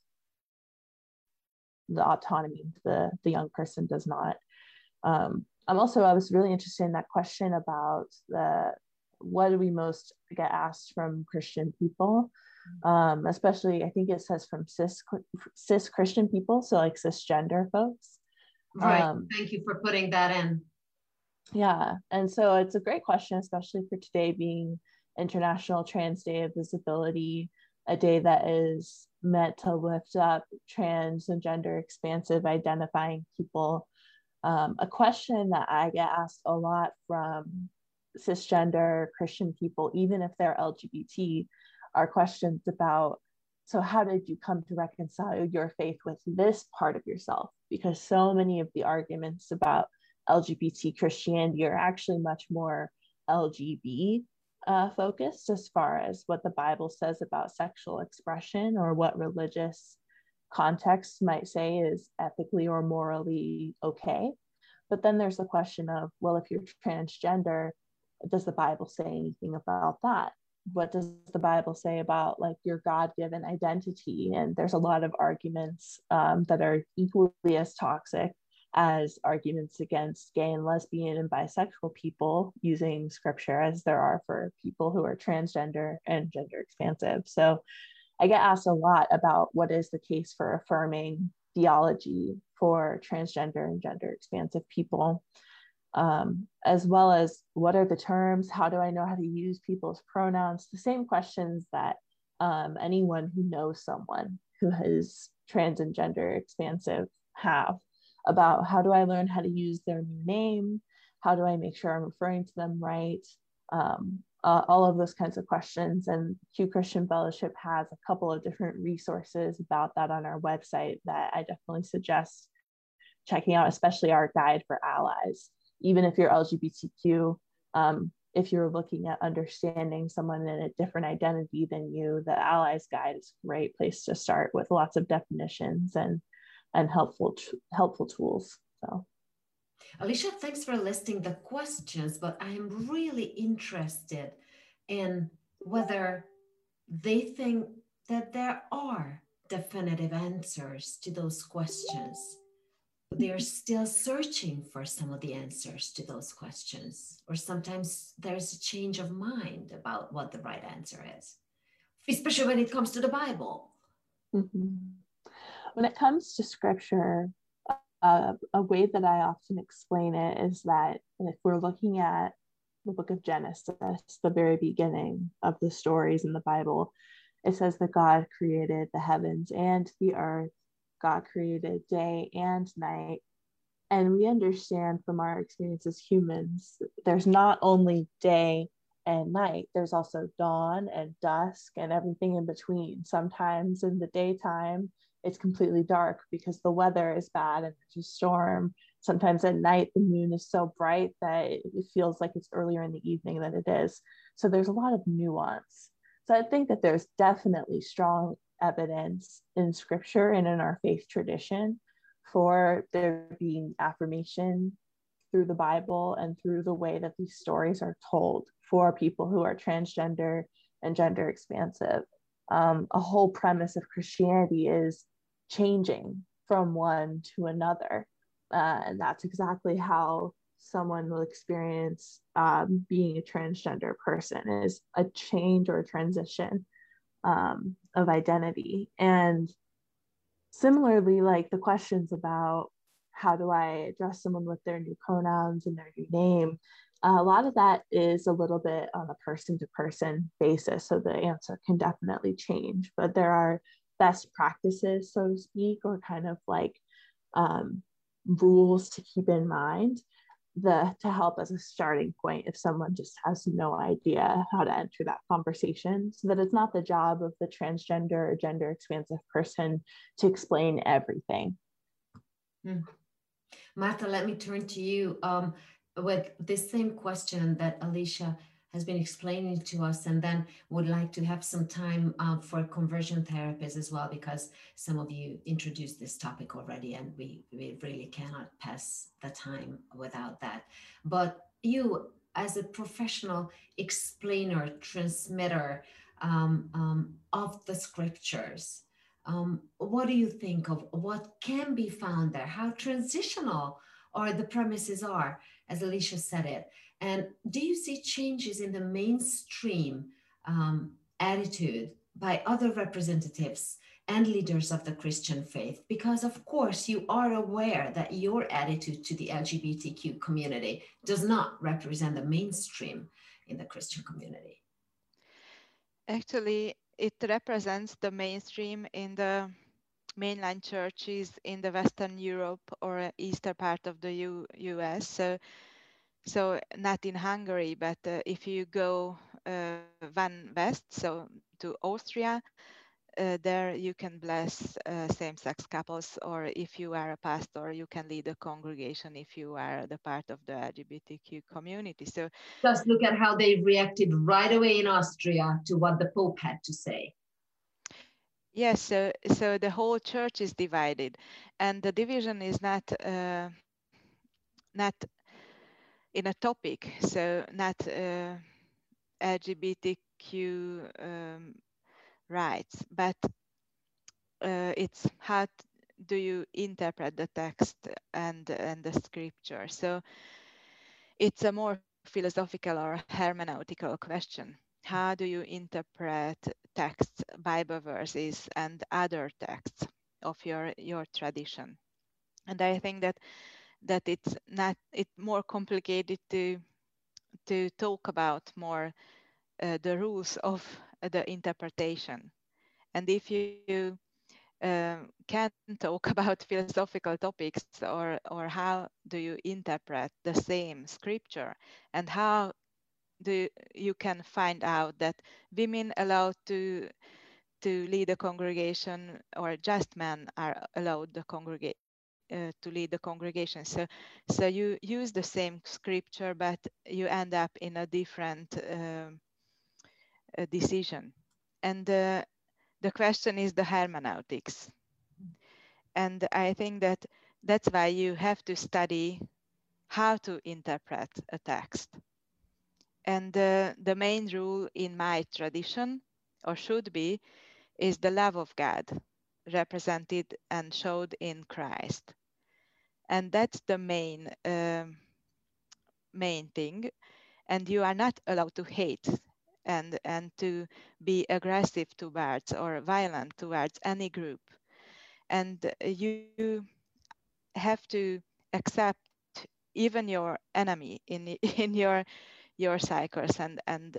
the autonomy, the, the young person does not. Um, I'm also, I was really interested in that question about the, what do we most get asked from Christian people, um, especially I think it says from cis, cis Christian people, so like cisgender folks. Right, Um, thank you for putting that in. Yeah, and so it's a great question, especially for today being International Trans Day of Visibility, a day that is meant to lift up trans and gender expansive identifying people. Um, a question that I get asked a lot from cisgender Christian people, even if they're L G B T, are questions about, so how did you come to reconcile your faith with this part of yourself? Because so many of the arguments about L G B T Christianity are actually much more L G B uh, focused as far as what the Bible says about sexual expression or what religious contexts might say is ethically or morally okay. But then there's the question of, well, if you're transgender, does the Bible say anything about that? What does the Bible say about like your God-given identity? And there's a lot of arguments um, that are equally as toxic as arguments against gay and lesbian and bisexual people using scripture as there are for people who are transgender and gender expansive. So I get asked a lot about what is the case for affirming theology for transgender and gender expansive people, um, as well as what are the terms, how do I know how to use people's pronouns, the same questions that um, anyone who knows someone who is trans and gender expansive have about how do I learn how to use their new name, how do I make sure I'm referring to them right, um, uh, all of those kinds of questions. And Q Christian Fellowship has a couple of different resources about that on our website that I definitely suggest checking out, especially our guide for allies. Even if you're L G B T Q, um, if you're looking at understanding someone in a different identity than you, the Allies Guide is a great place to start with lots of definitions and and helpful helpful tools. So, Alicia, thanks for listing the questions, but I am really interested in whether they think that there are definitive answers to those questions. They're still searching for some of the answers to those questions, or sometimes there's a change of mind about what the right answer is, especially when it comes to the Bible. Mm-hmm. When it comes to scripture, uh, a way that I often explain it is that if we're looking at the book of Genesis, the very beginning of the stories in the Bible, it says that God created the heavens and the earth. God created day and night. And we understand from our experience as humans, there's not only day and night, there's also dawn and dusk and everything in between. Sometimes in the daytime, it's completely dark because the weather is bad and there's a storm. Sometimes at night, the moon is so bright that it feels like it's earlier in the evening than it is. So there's a lot of nuance. So I think that there's definitely strong evidence in scripture and in our faith tradition for there being affirmation through the Bible and through the way that these stories are told for people who are transgender and gender expansive. Um, a whole premise of Christianity is changing from one to another. Uh, and that's exactly how someone will experience um, being a transgender person, is a change or a transition um, of identity. And similarly, like the questions about how do I address someone with their new pronouns and their new name, uh, a lot of that is a little bit on a person-to-person basis, so the answer can definitely change. But there are best practices, so to speak, or kind of like um, rules to keep in mind the to help as a starting point if someone just has no idea how to enter that conversation, so that it's not the job of the transgender or gender expansive person to explain everything. Mm. Martha, let me turn to you um, with this same question that Alicia has been explaining to us, and then would like to have some time uh, for conversion therapists as well, because some of you introduced this topic already and we, we really cannot pass the time without that. But you, as a professional explainer, transmitter um, um, of the scriptures, um, what do you think of what can be found there? How transitional or the premises are, as Alicia said it. And do you see changes in the mainstream um, attitude by other representatives and leaders of the Christian faith, because of course you are aware that your attitude to the L G B T Q community does not represent the mainstream in the Christian community. Actually, it represents the mainstream in the mainline churches in the Western Europe or eastern part of the U US. So, so not in Hungary, but uh, if you go uh, one west, so to Austria, uh, there you can bless uh, same-sex couples, or if you are a pastor, you can lead a congregation if you are the part of the L G B T Q community. So just look at how they reacted right away in Austria to what the Pope had to say. Yes, so, so the whole church is divided, and the division is not uh, not in a topic, so not uh, L G B T Q um, rights, but uh, it's how do you interpret the text and and the scripture. So it's a more philosophical or hermeneutical question. How do you interpret texts, Bible verses, and other texts of your your tradition? And I think that that it's not it's more complicated to to talk about more uh, the rules of the interpretation. And if you uh, can talk about philosophical topics, or or how do you interpret the same scripture, and how do you, you can find out that women allowed to to lead a congregation, or just men are allowed the congregate uh, to lead the congregation. So so you use the same scripture, but you end up in a different um, uh, decision. And uh, the question is the hermeneutics. And I think that that's why you have to study how to interpret a text. And uh, the main rule in my tradition, or should be, is the love of God represented and showed in Christ. And that's the main, um, main thing. And you are not allowed to hate and, and to be aggressive towards or violent towards any group. And you have to accept even your enemy in in your your cycles, and and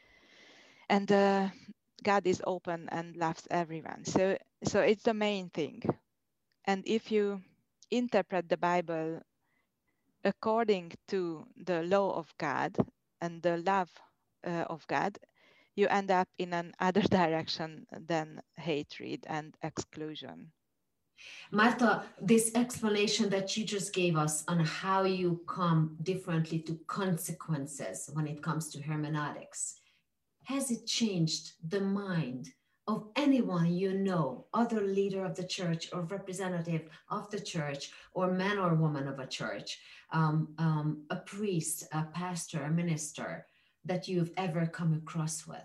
and uh, God is open and loves everyone. So so it's the main thing. And if you interpret the Bible according to the law of God and the love uh, of God, you end up in another direction than hatred and exclusion. Marta, this explanation that you just gave us on how you come differently to consequences when it comes to hermeneutics, has it changed the mind of anyone you know, other leader of the church or representative of the church, or man or woman of a church, um, um, a priest, a pastor, a minister, that you've ever come across with?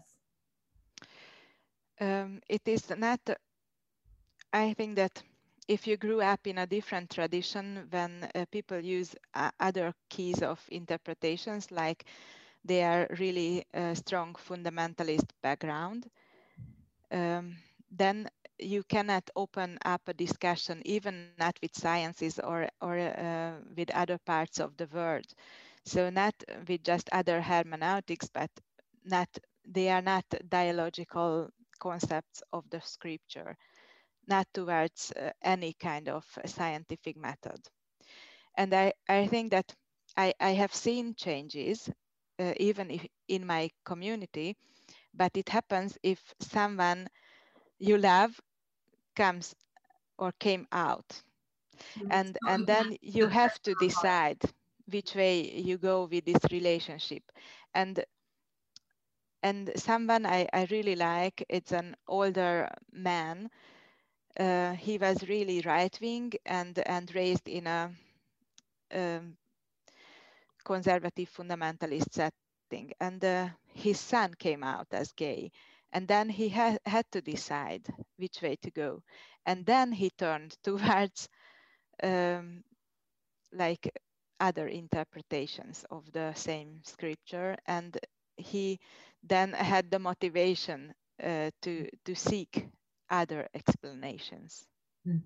Um, it is not, I think that if you grew up in a different tradition, when uh, people use uh, other keys of interpretations, like they are really uh, strong fundamentalist background, um, then you cannot open up a discussion, even not with sciences or, or uh, with other parts of the world. So not with just other hermeneutics, but not they are not dialogical concepts of the scripture, not towards uh, any kind of scientific method. And I, I think that I, I have seen changes, uh, even if in my community, but it happens if someone you love comes or came out. And, and then you have to decide which way you go with this relationship. And and someone I, I really like, it's an older man. Uh, he was really right-wing and, and raised in a um, conservative fundamentalist setting. And uh, his son came out as gay. And then he ha had to decide which way to go. And then he turned towards um, like other interpretations of the same scripture. And he then had the motivation uh, to, to seek other explanations. Hmm.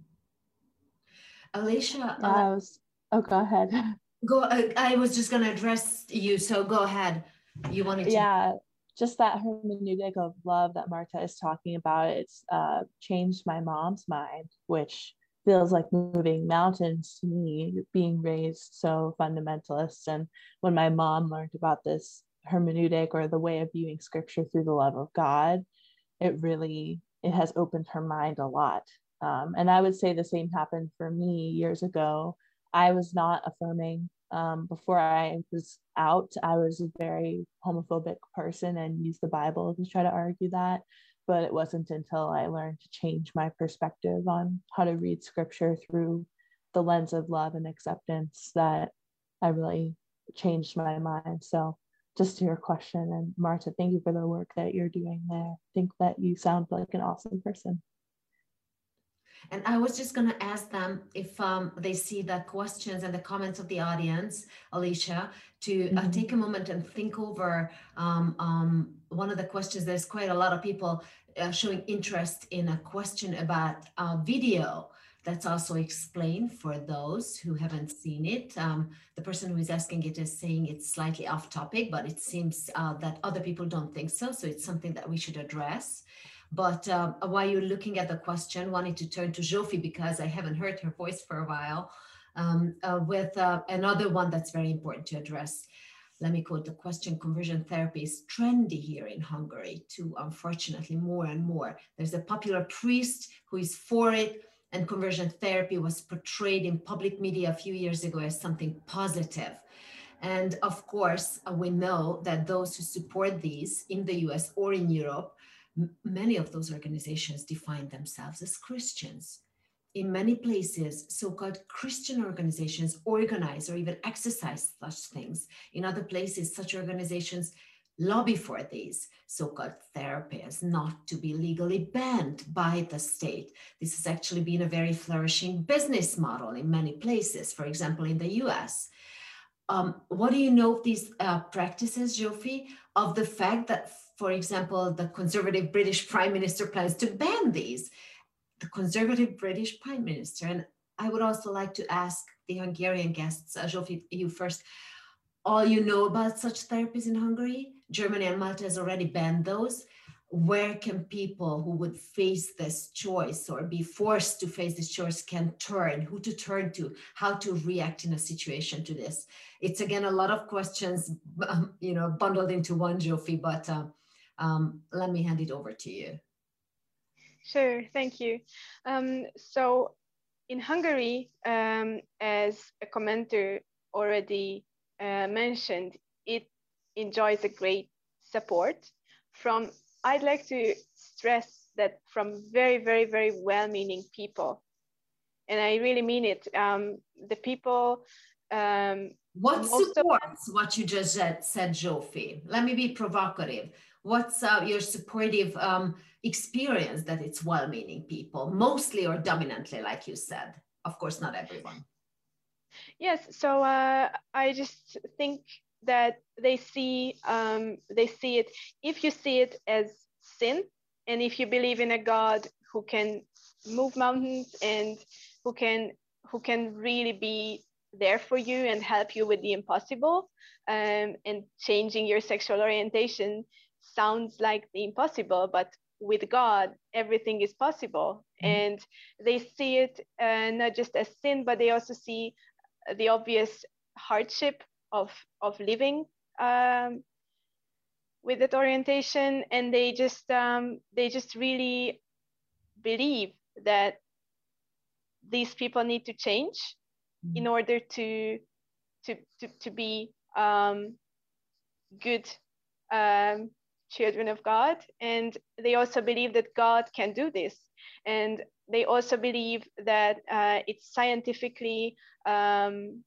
Alicia, yeah, I was, oh, go ahead. Go. I, I was just going to address you, so go ahead. You wanted to. Yeah, just that hermeneutic of love that Marta is talking about. It's uh, changed my mom's mind, which feels like moving mountains to me, being raised so fundamentalist. And when my mom learned about this hermeneutic, or the way of viewing scripture through the love of God, it really, it has opened her mind a lot. Um, and I would say the same happened for me years ago. I was not affirming. Um, before I was out, I was a very homophobic person and used the Bible to try to argue that. But it wasn't until I learned to change my perspective on how to read scripture through the lens of love and acceptance that I really changed my mind. So just to your question, and Marta, thank you for the work that you're doing there. I think that you sound like an awesome person. And I was just going to ask them if um, they see the questions and the comments of the audience, Alicia, to uh, mm-hmm. take a moment and think over um, um, one of the questions. There's quite a lot of people uh, showing interest in a question about uh, video that's also explained for those who haven't seen it. Um, the person who is asking it is saying it's slightly off topic, but it seems uh, that other people don't think so. So it's something that we should address. But uh, while you're looking at the question, wanted to turn to Zsófi because I haven't heard her voice for a while, um, uh, with uh, another one that's very important to address. Let me quote the question. Conversion therapy is trendy here in Hungary too, unfortunately, more and more. There's a popular priest who is for it, and conversion therapy was portrayed in public media a few years ago as something positive. And of course, uh, we know that those who support these in the U S or in Europe, many of those organizations define themselves as Christians. In many places, so-called Christian organizations organize or even exercise such things. In other places, such organizations lobby for these so-called therapies not to be legally banned by the state. This has actually been a very flourishing business model in many places, for example, in the U S. Um, what do you know of these uh, practices, Zsófi, of the fact that, for example, the conservative British Prime Minister plans to ban these? The conservative British Prime Minister, and I would also like to ask the Hungarian guests, uh, Zsófi, you first, all you know about such therapies in Hungary? Germany and Malta has already banned those. Where can people who would face this choice or be forced to face this choice can turn, who to turn to, how to react in a situation to this? It's again, a lot of questions, um, you know, bundled into one, Zsófi, but uh, um, let me hand it over to you. Sure, thank you. Um, so in Hungary, um, as a commenter already uh, mentioned, it enjoys a great support from, I'd like to stress that, from very, very, very well-meaning people. And I really mean it. Um, the people... Um, what supports what you just said, said Zsófi? Let me be provocative. What's uh, your supportive um, experience that it's well-meaning people, mostly or dominantly, like you said? Of course, not everyone. Yes, so uh, I just think that they see um, they see it. If you see it as sin, and if you believe in a God who can move mountains and who can who can really be there for you and help you with the impossible, um, and changing your sexual orientation sounds like the impossible, but with God, everything is possible. Mm-hmm. And they see it uh, not just as sin, but they also see the obvious hardship of of living um, with that orientation, and they just um, they just really believe that these people need to change mm-hmm. in order to to to, to be um, good um, children of God. And they also believe that God can do this, and they also believe that uh, it's scientifically, um,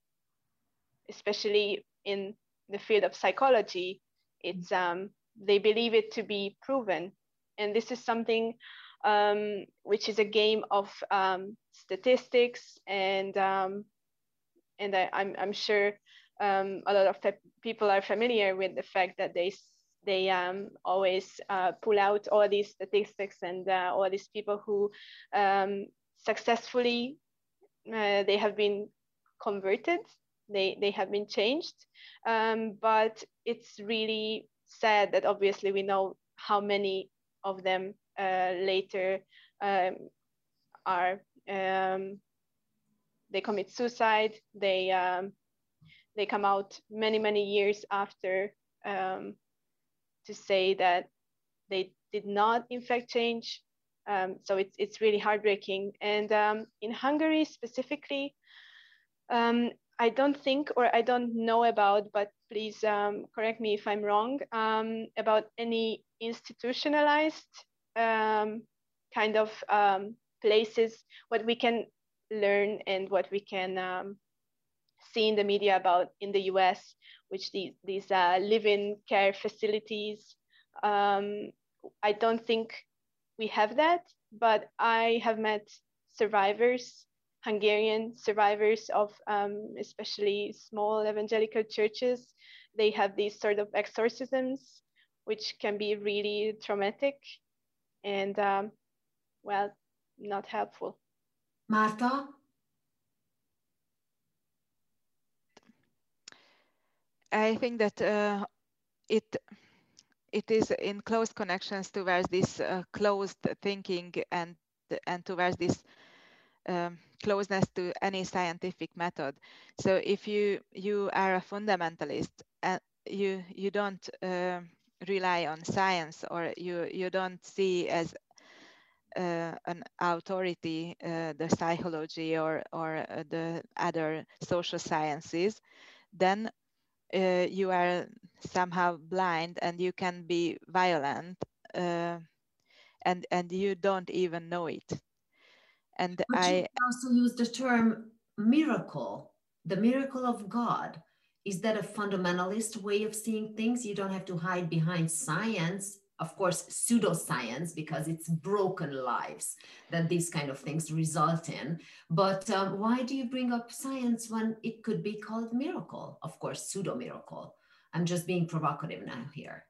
especially in the field of psychology, it's um, they believe it to be proven. And this is something um, which is a game of um, statistics, and um, and I, I'm I'm sure um, a lot of people are familiar with the fact that they they um, always uh, pull out all these statistics and uh, all these people who um, successfully uh, they have been converted, they they have been changed, um, but it's really sad that obviously we know how many of them uh, later um, are um, they commit suicide, they um, they come out many many years after um, to say that they did not in fact change. Um, so it's it's really heartbreaking. And um, in Hungary specifically, um, I don't think, or I don't know about, but please um, correct me if I'm wrong, um, about any institutionalized um, kind of um, places, what we can learn and what we can um, see in the media about in the U S, which these, these uh, live-in care facilities. Um, I don't think we have that, but I have met survivors, Hungarian survivors of um, especially small evangelical churches. They have these sort of exorcisms, which can be really traumatic and, um, well, not helpful. Marta? I think that uh, it it is in close connections towards this uh, closed thinking and and towards this um, closeness to any scientific method. So if you you are a fundamentalist and you you don't uh, rely on science, or you you don't see as uh, an authority uh, the psychology or or uh, the other social sciences, then uh, you are somehow blind and you can be violent, uh, and and you don't even know it. And But I you also use the term miracle, the miracle of God. Is that a fundamentalist way of seeing things? You don't have to hide behind science, of course, pseudoscience, because it's broken lives that these kind of things result in. But um, why do you bring up science when it could be called miracle? Of course, pseudo miracle. I'm just being provocative now here.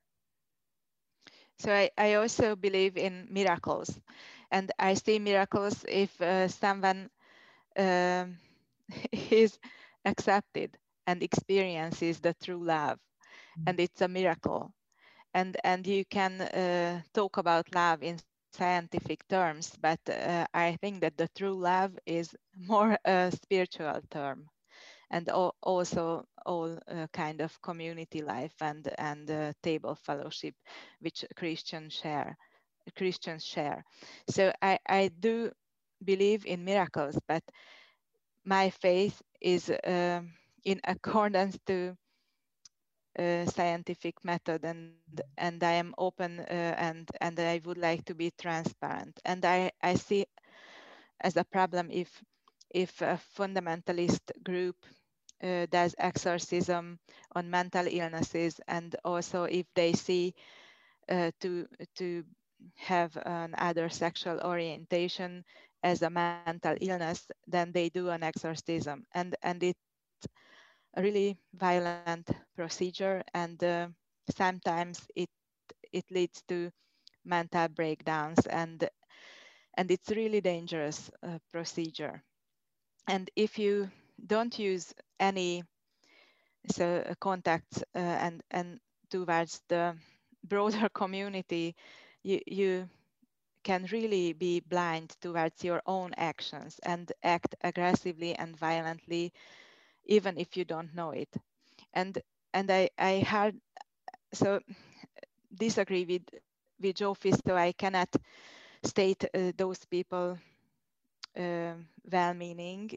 So I, I also believe in miracles, and I see miracles if uh, someone um, is accepted and experiences the true love, and it's a miracle. And and you can uh, talk about love in scientific terms, but uh, I think that the true love is more a spiritual term, and al- also all uh, kind of community life and and uh, table fellowship which Christians share Christians share. So I, I do believe in miracles, but my faith is um, in accordance to uh, scientific method, and and I am open uh, and and I would like to be transparent. And I I see as a problem if if a fundamentalist group uh, does exorcism on mental illnesses, and also if they see uh, to to have an other sexual orientation as a mental illness, then they do an exorcism, and and it's a really violent procedure, and uh, sometimes it it leads to mental breakdowns, and and it's really dangerous uh, procedure. And if you don't use any so uh, contacts uh, and and towards the broader community, you you can really be blind towards your own actions and act aggressively and violently, even if you don't know it. And and I I had so disagree with with Jofi, so I cannot state uh, those people uh, well-meaning,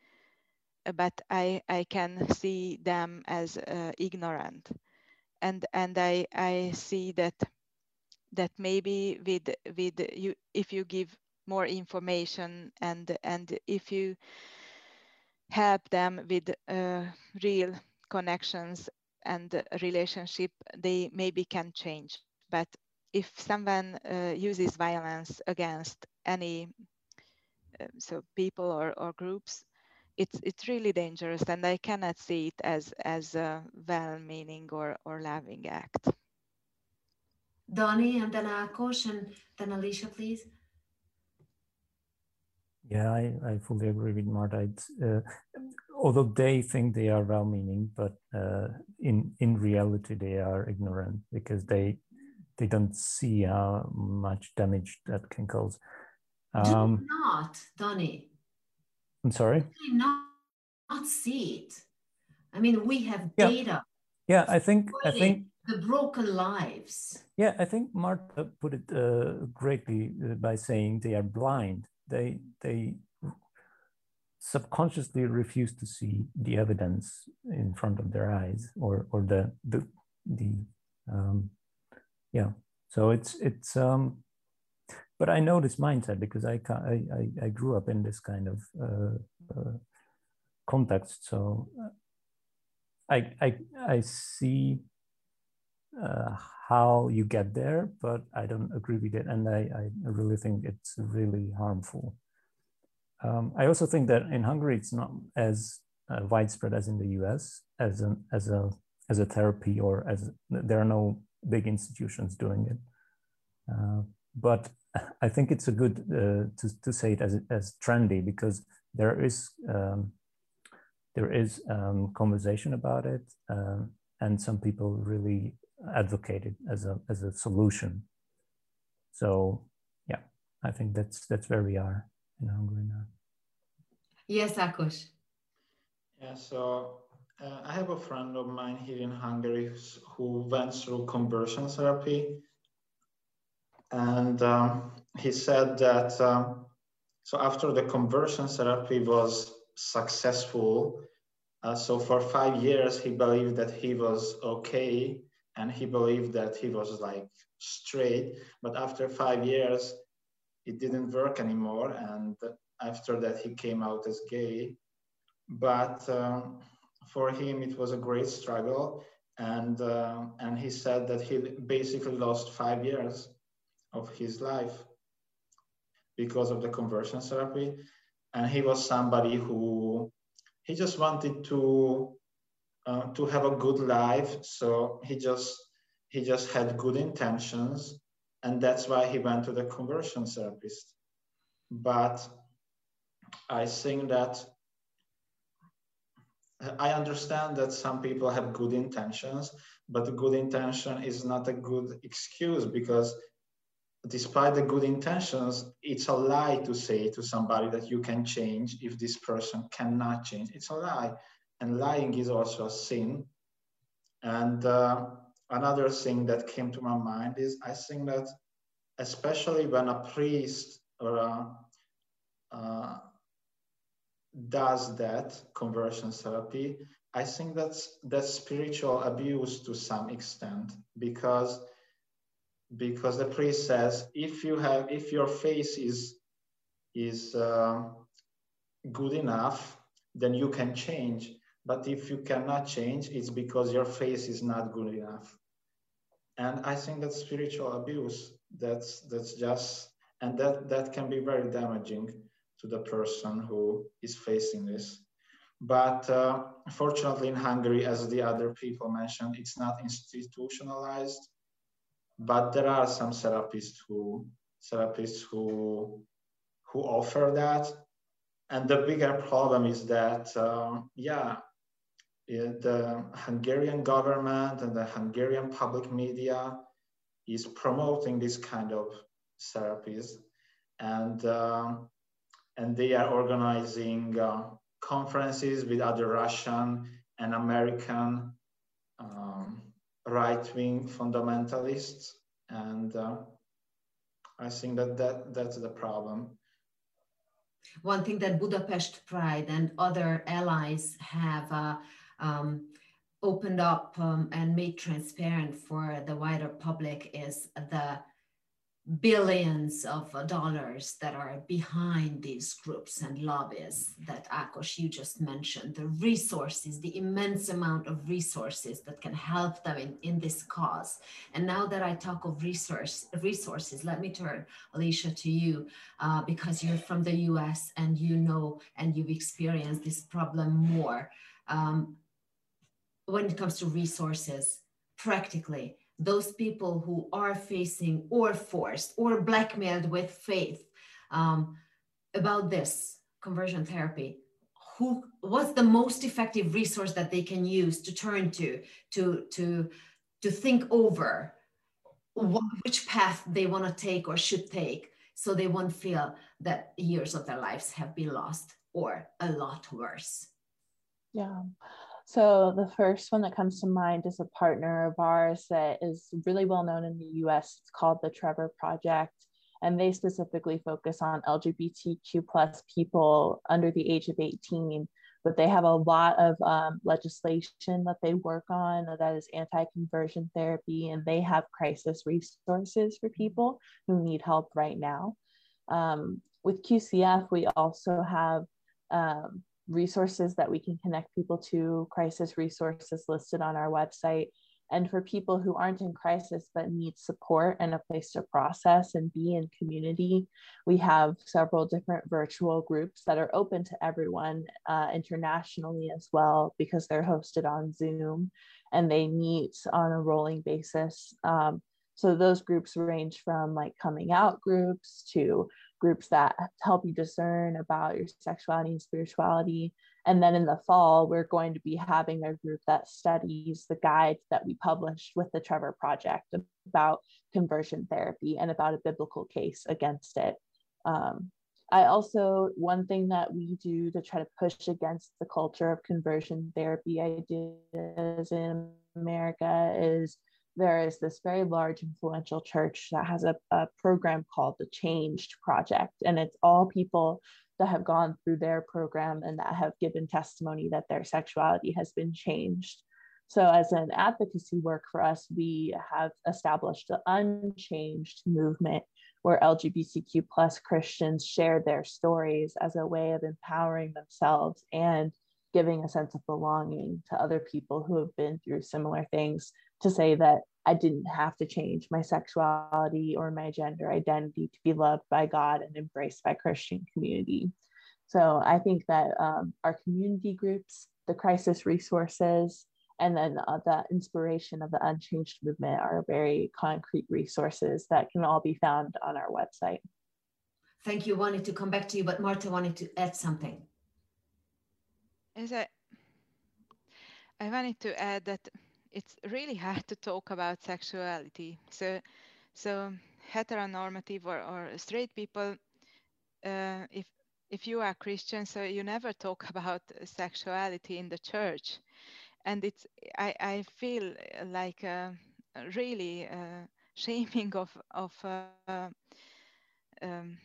but I, I can see them as uh, ignorant, and and I I see that that maybe with with you, if you give more information and and if you help them with uh, real connections and relationship, they maybe can change. But if someone uh, uses violence against any uh, so people or, or groups, it's it's really dangerous, and I cannot see it as as a well-meaning or or loving act. Donnie, and then Akos, and then Alicia, please. Yeah, I, I fully agree with Marta. Uh, although they think they are well-meaning, but uh, in in reality they are ignorant because they they don't see how much damage that can cause. Um, Do not, Donnie. I'm sorry? Do not, not see it. I mean, we have yeah. data. Yeah, I think I think the broken lives. Yeah, I think Marta put it uh, greatly by saying they are blind. They they subconsciously refuse to see the evidence in front of their eyes, or or the the the um, yeah. So it's it's um, but I know this mindset because I I I grew up in this kind of uh, uh, context. So I I I see uh, how you get there, but I don't agree with it, and I I really think it's really harmful. Um, I also think that in Hungary it's not as uh, widespread as in the U S as an as a as a therapy, or as there are no big institutions doing it. Uh, but I think it's a good uh, to to say it as as trendy, because there is um, there is um, conversation about it, uh, and some people really advocate it as a as a solution. So yeah, I think that's that's where we are in Hungary now. Yes, Akos. Yeah, so uh, I have a friend of mine here in Hungary who went through conversion therapy, and um, he said that um, so after the conversion therapy was successful, uh, so for five years he believed that he was okay, and he believed that he was like straight, but after five years it didn't work anymore, and after that he came out as gay. But um, for him it was a great struggle, and uh, and he said that he basically lost five years of his life because of the conversion therapy. And he was somebody who he just wanted to uh, to have a good life, so he just he just had good intentions, and that's why he went to the conversion therapist. But I think that I understand that some people have good intentions, but the good intention is not a good excuse, because despite the good intentions, it's a lie to say to somebody that you can change if this person cannot change. It's a lie. And lying is also a sin. And uh, another thing that came to my mind is I think that especially when a priest or a, uh, does that conversion therapy, I think that's that's spiritual abuse to some extent, because because the priest says if you have if your face is is uh, good enough, then you can change. But if you cannot change, it's because your face is not good enough. And I think that's spiritual abuse. That's that's just and that that can be very damaging to the person who is facing this. But uh, fortunately in Hungary, as the other people mentioned, it's not institutionalized. But there are some therapists who therapists who who offer that. And the bigger problem is that, um, yeah, the Hungarian government and the Hungarian public media is promoting this kind of therapies, and uh, and they are organizing uh, conferences with other Russian and American um, right-wing fundamentalists, and uh, I think that, that that's the problem. One thing that Budapest Pride and other allies have uh, um, opened up um, and made transparent for the wider public is the billions of dollars that are behind these groups and lobbies that Akos, you just mentioned, the resources, the immense amount of resources that can help them in, in this cause. And now that I talk of resource, resources, let me turn, Alicia, to you, uh, because you're from the U S and you know, and you've experienced this problem more. Um, when it comes to resources, practically, those people who are facing or forced or blackmailed with faith um, about this conversion therapy, who what's the most effective resource that they can use to turn to to to to think over what, which path they want to take or should take, so they won't feel that years of their lives have been lost or a lot worse? Yeah. So the first one that comes to mind is a partner of ours that is really well known in the U S. It's called the Trevor Project, and they specifically focus on L G B T Q plus people under the age of eighteen. But they have a lot of um, legislation that they work on that is anti-conversion therapy, and they have crisis resources for people who need help right now. Um, with Q C F, we also have um, resources that we can connect people to, crisis resources listed on our website. And for people who aren't in crisis but need support and a place to process and be in community, we have several different virtual groups that are open to everyone uh, internationally as well, because they're hosted on Zoom and they meet on a rolling basis. Um, so those groups range from like coming out groups to groups that help you discern about your sexuality and spirituality. And then in the fall, we're going to be having a group that studies the guide that we published with the Trevor Project about conversion therapy and about a biblical case against it. Um, I also, one thing that we do to try to push against the culture of conversion therapy ideas in America is there is this very large influential church that has a, a program called the Changed Project. And it's all people that have gone through their program and that have given testimony that their sexuality has been changed. So as an advocacy work for us, we have established the Unchanged movement, where L G B T Q plus Christians share their stories as a way of empowering themselves and giving a sense of belonging to other people who have been through similar things, to say that I didn't have to change my sexuality or my gender identity to be loved by God and embraced by Christian community. So I think that um, our community groups, the crisis resources, and then uh, the inspiration of the Unchanged movement are very concrete resources that can all be found on our website. Thank you. Wanted to come back to you, but Marta wanted to add something. As I, I wanted to add that it's really hard to talk about sexuality. So, so heteronormative or, or straight people, uh, if if you are Christian, so you never talk about sexuality in the church, and it's I I feel like uh, really uh, shaming of of uh, um,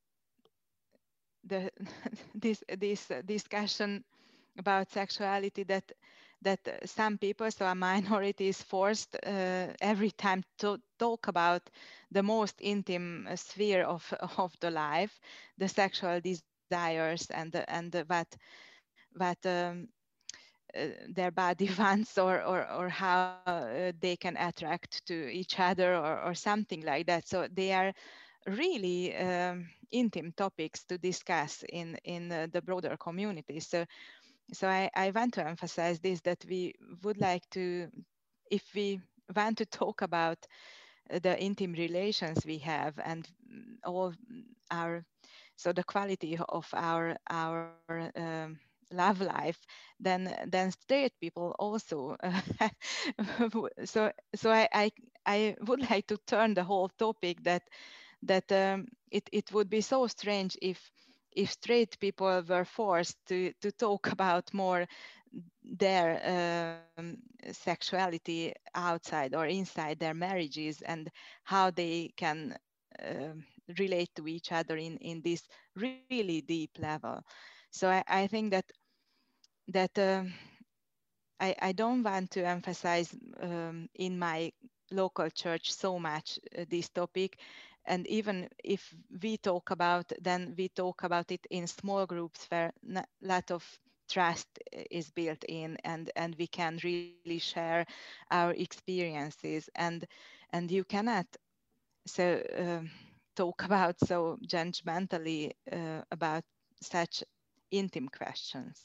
the this this discussion about sexuality that that some people, so a minority, is forced uh, every time to talk about the most intimate sphere of of the life, the sexual desires and the, and the, what what um, uh, their body wants, or or or how uh, they can attract to each other, or or something like that. So they are really um, intimate topics to discuss in in uh, the broader community. So. So I, I want to emphasize this, that we would like to, if we want to talk about the intimate relations we have and all our, so the quality of our our um, love life, then then straight people also. Uh, so so I, I I would like to turn the whole topic that that um, it it would be so strange if. if straight people were forced to, to talk about more their um, sexuality outside or inside their marriages, and how they can uh, relate to each other in, in this really deep level. So I, I think that that uh, I, I don't want to emphasize um, in my local church so much uh, this topic. And even if we talk about, then we talk about it in small groups where a lot of trust is built in, and, and we can really share our experiences. And, and you cannot so um, talk about so judgmentally uh, about such intimate questions.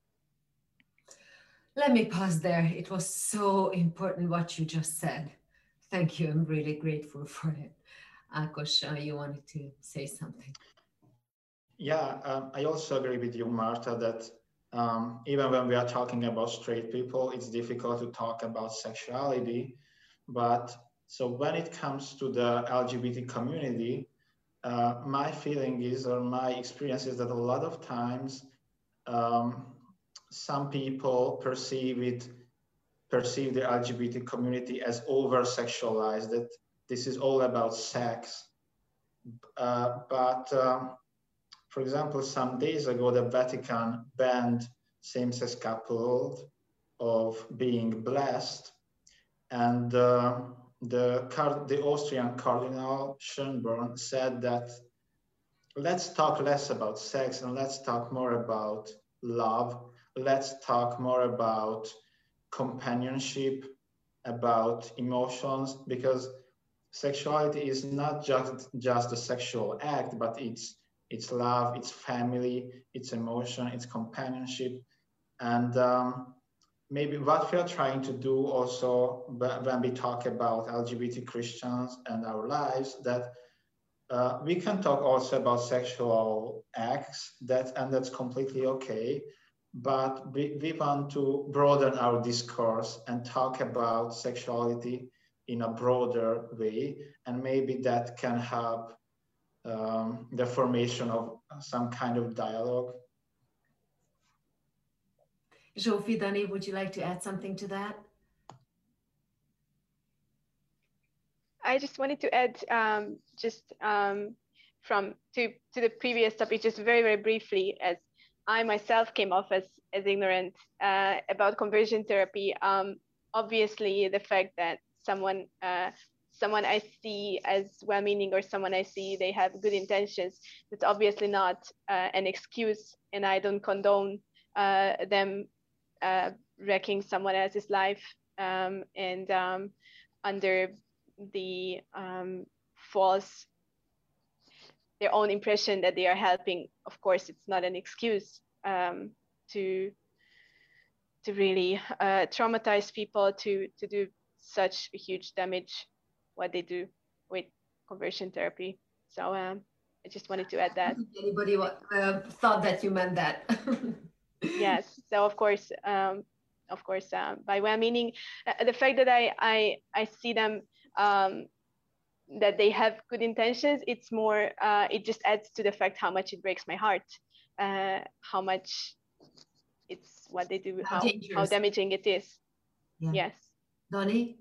Let me pause there. It was so important what you just said. Thank you. I'm really grateful for it. Ákos, uh, you wanted to say something. Yeah, um, I also agree with you, Marta, that um, even when we are talking about straight people, it's difficult to talk about sexuality. But so when it comes to the L G B T community, uh, my feeling is, or my experience is, that a lot of times um, some people perceive it, perceive the L G B T community as over-sexualized, that this is all about sex. Uh, but um, for example, some days ago, the Vatican banned same-sex couples of being blessed, and uh, the, the Austrian Cardinal Schönborn said that let's talk less about sex and let's talk more about love. Let's talk more about companionship, about emotions, because sexuality is not just, just a sexual act, but it's it's love, it's family, it's emotion, it's companionship. And um, maybe what we are trying to do also when we talk about L G B T Christians and our lives, that uh, we can talk also about sexual acts, that, and that's completely okay. But we, we want to broaden our discourse and talk about sexuality in a broader way, and maybe that can help um, the formation of some kind of dialogue. Zsófi, Dani, would you like to add something to that? I just wanted to add um, just um, from to, to the previous topic, just very, very briefly, as I myself came off as, as ignorant uh, about conversion therapy. Um, obviously, the fact that someone uh, someone I see as well-meaning, or someone I see they have good intentions, that's obviously not uh, an excuse, and I don't condone uh, them uh, wrecking someone else's life um, and um, under the um, false, their own impression that they are helping. Of course, it's not an excuse um, to to really uh, traumatize people, to to do such a huge damage, what they do with conversion therapy. So um, I just wanted to add that. Anybody uh, thought that you meant that? Yes. So of course, um, of course, um, by well-meaning, uh, the fact that I I I see them. Um, that they have good intentions, it's more, uh, it just adds to the fact how much it breaks my heart, uh, how much it's what they do, how, how, how damaging it is. Yeah. Yes. Dani?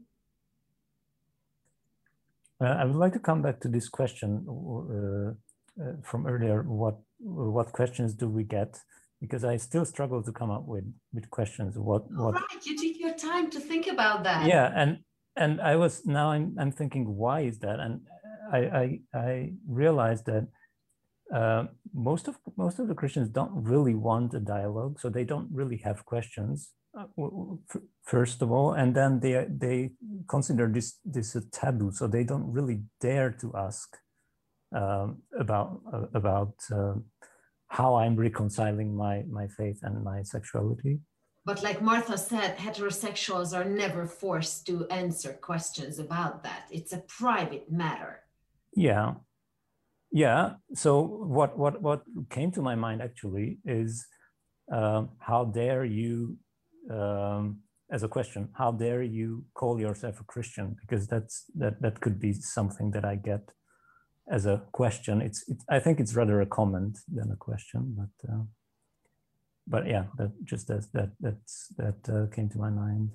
Uh, I would like to come back to this question uh, uh, from earlier. What what questions do we get? Because I still struggle to come up with, with questions. What, what... Right, you take your time to think about that. Yeah, and And I was now I'm I'm thinking, why is that? And I I, I realized that uh, most of most of the Christians don't really want a dialogue, so they don't really have questions. Uh, first of all, and then they they consider this this a taboo, so they don't really dare to ask um, about uh, about uh, how I'm reconciling my my faith and my sexuality. But like Martha said, heterosexuals are never forced to answer questions about that. It's a private matter. Yeah. Yeah. So what what what came to my mind actually is um, how dare you, um, as a question, how dare you call yourself a Christian? Because that's that that could be something that I get as a question. It's, it's I think it's rather a comment than a question, but. Uh, But yeah, that just as that that's that uh, came to my mind.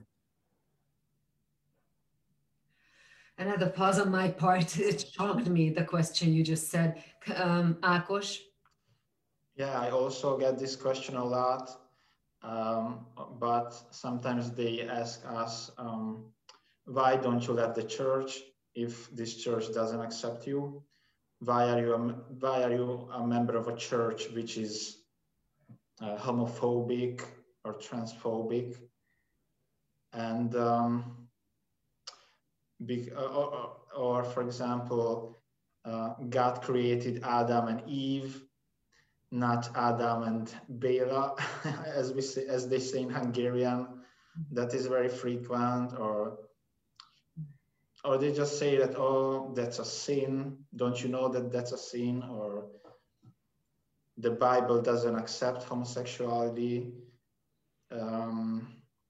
Another pause on my part. It shocked me, the question you just said, um, Ákos. Yeah, I also get this question a lot, um, but sometimes they ask us, um, why don't you let the church if this church doesn't accept you? Why are you a, why are you a member of a church which is Uh, homophobic or transphobic? And um, be, uh, or, or for example, uh, God created Adam and Eve, not Adam and Bela, as we say, as they say in Hungarian. That is very frequent. Or or they just say that, oh, that's a sin. Don't you know that that's a sin? Or the Bible doesn't accept homosexuality. Um,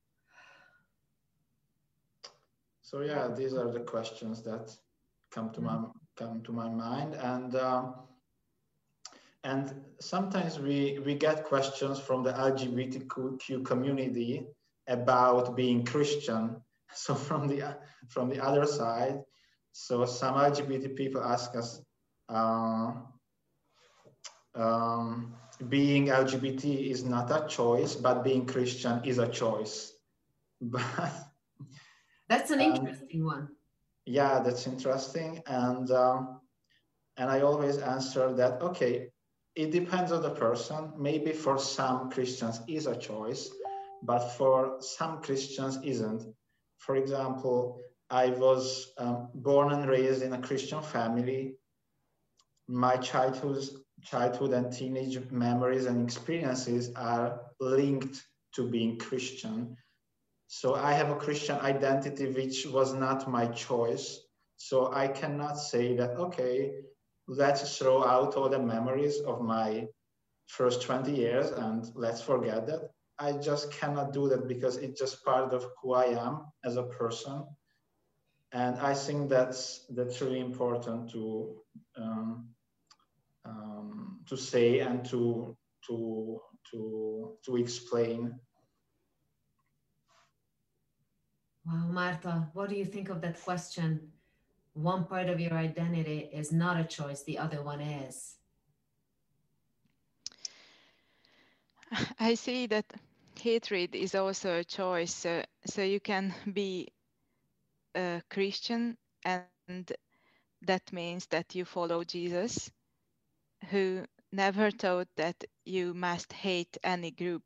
so yeah, these are the questions that come to my come to my mind, and um, and sometimes we we get questions from the L G B T Q community about being Christian. So from the from the other side, so some L G B T people ask us, uh, um, being L G B T is not a choice, but being Christian is a choice. But that's an interesting um, one. Yeah, that's interesting, and um, and I always answer that, okay, it depends on the person. Maybe for some Christians is a choice, but for some Christians isn't. For example, I was um, born and raised in a Christian family. My childhood, childhood and teenage memories and experiences are linked to being Christian. So I have a Christian identity, which was not my choice. So I cannot say that, okay, let's throw out all the memories of my first twenty years and let's forget that. I just cannot do that because it's just part of who I am as a person. And I think that's that's really important to um, um, to say and to to to to explain. Wow, Marta, what do you think of that question? One part of your identity is not a choice, the other one is. I see that hatred is also a choice. So, so you can be a Christian, and that means that you follow Jesus, who never taught that you must hate any group.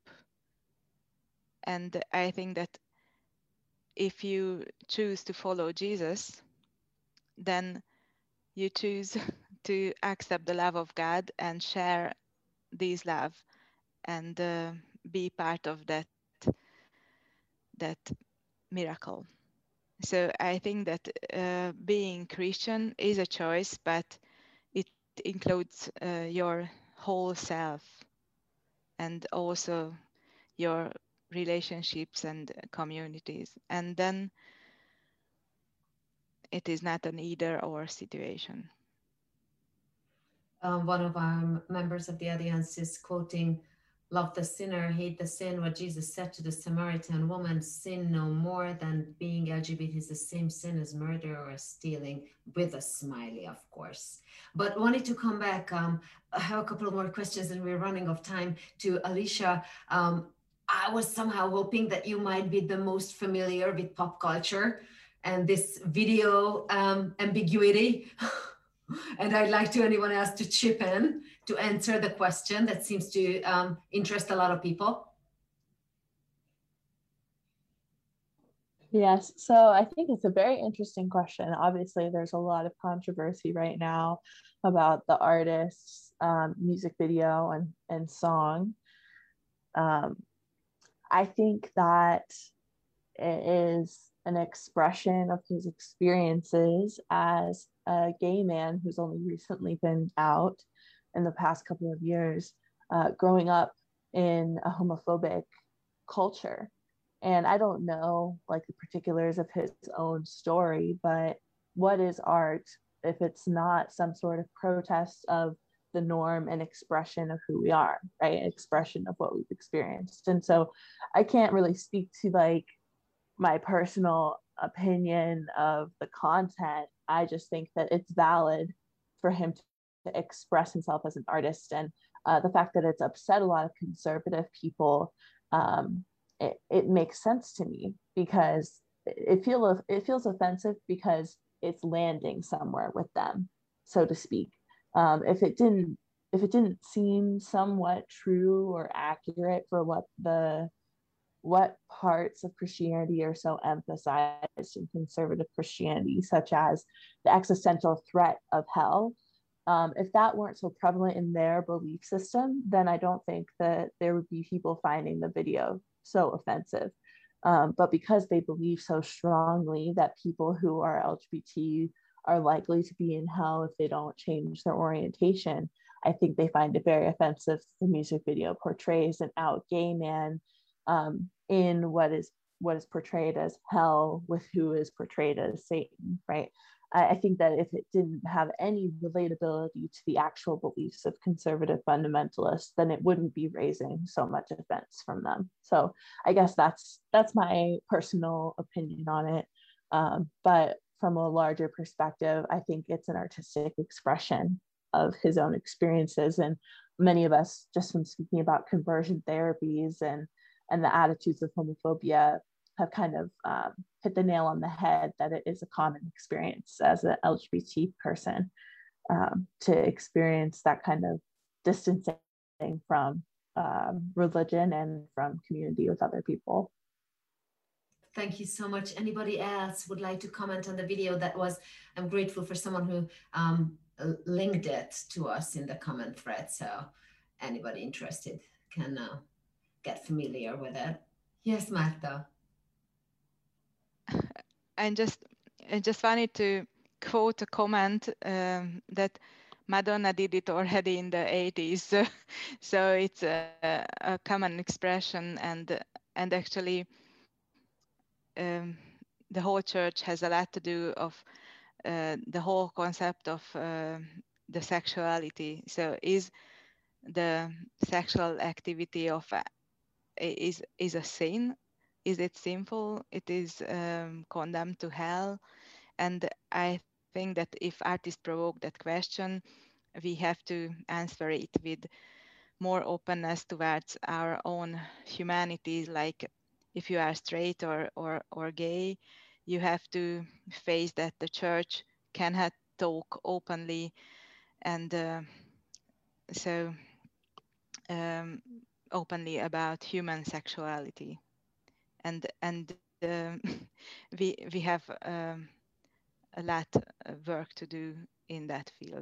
And I think that if you choose to follow Jesus, then you choose to accept the love of God and share this love and uh, be part of that that miracle. So I think that uh, being Christian is a choice, but it includes uh, your whole self and also your relationships and communities. And then it is not an either or situation. Um, one of our members of the Alliance is quoting, love the sinner, hate the sin, what Jesus said to the Samaritan woman, sin no more than being L G B T is the same sin as murder or stealing, with a smiley, of course. But wanted to come back, um, I have a couple of more questions and we're running out of time, to Alicia. Um, I was somehow hoping that you might be the most familiar with pop culture and this video um, ambiguity. And I'd like to anyone else to chip in to answer the question that seems to um, interest a lot of people. Yes, so I think it's a very interesting question. Obviously, there's a lot of controversy right now about the artist's um, music video and, and song. Um, I think that it is an expression of his experiences as a gay man who's only recently been out in the past couple of years, uh, growing up in a homophobic culture. And I don't know like the particulars of his own story, but what is art if it's not some sort of protest of the norm and expression of who we are, right? Expression of what we've experienced. And so I can't really speak to like my personal opinion of the content. I just think that it's valid for him to, to express himself as an artist. And uh, the fact that it's upset a lot of conservative people, um, it, it makes sense to me because it, feel, it feels offensive because it's landing somewhere with them, so to speak. Um, if it didn't, if it didn't seem somewhat true or accurate for what the what parts of Christianity are so emphasized in conservative Christianity, such as the existential threat of hell. Um, if that weren't so prevalent in their belief system, then I don't think that there would be people finding the video so offensive. Um, but because they believe so strongly that people who are L G B T are likely to be in hell if they don't change their orientation, I think they find it very offensive the music video portrays an out gay man um, in what is what is portrayed as hell with who is portrayed as Satan, right? I, I think that if it didn't have any relatability to the actual beliefs of conservative fundamentalists, then it wouldn't be raising so much offense from them. So I guess that's that's my personal opinion on it. Um, but from a larger perspective, I think it's an artistic expression of his own experiences. And many of us, just from speaking about conversion therapies and, and the attitudes of homophobia, have kind of um, hit the nail on the head that it is a common experience as an L G B T person um, to experience that kind of distancing from um, religion and from community with other people. Thank you so much. Anybody else would like to comment on the video? That was, I'm grateful for someone who um, linked it to us in the comment thread. So anybody interested can uh, get familiar with it. Yes, Marta. I just, I just wanted to quote a comment um, that Madonna did it already in the eighties. So it's a, a common expression, and and actually um, the whole church has a lot to do of uh, the whole concept of uh, the sexuality. So is the sexual activity of uh, is is a sin? Is it sinful? It is um, condemned to hell. And I think that if artists provoke that question, we have to answer it with more openness towards our own humanity. Like if you are straight or, or, or gay, you have to face that the church cannot talk openly. And uh, so um, openly about human sexuality. And, and uh, we, we have um, a lot of work to do in that field.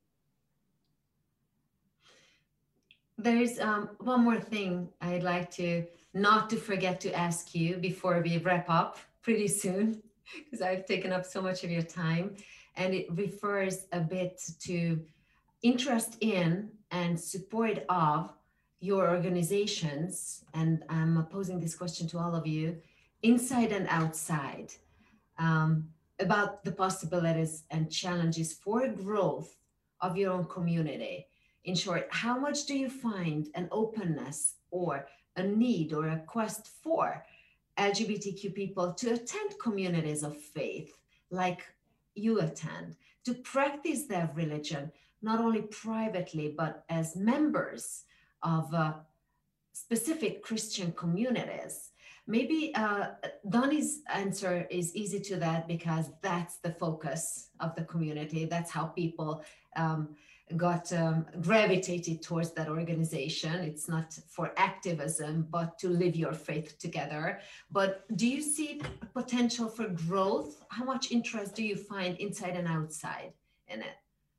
There's um, one more thing I'd like to not to forget to ask you before we wrap up pretty soon, because I've taken up so much of your time, and it refers a bit to interest in and support of your organizations. And I'm posing this question to all of you, inside and outside, um, about the possibilities and challenges for growth of your own community. In short, how much do you find an openness or a need or a quest for L G B T Q people to attend communities of faith like you attend, to practice their religion, not only privately, but as members of uh, specific Christian communities? Maybe uh, Donnie's answer is easy to that because that's the focus of the community. That's how people um, got um, gravitated towards that organization. It's not for activism, but to live your faith together. But do you see potential for growth? How much interest do you find inside and outside in it?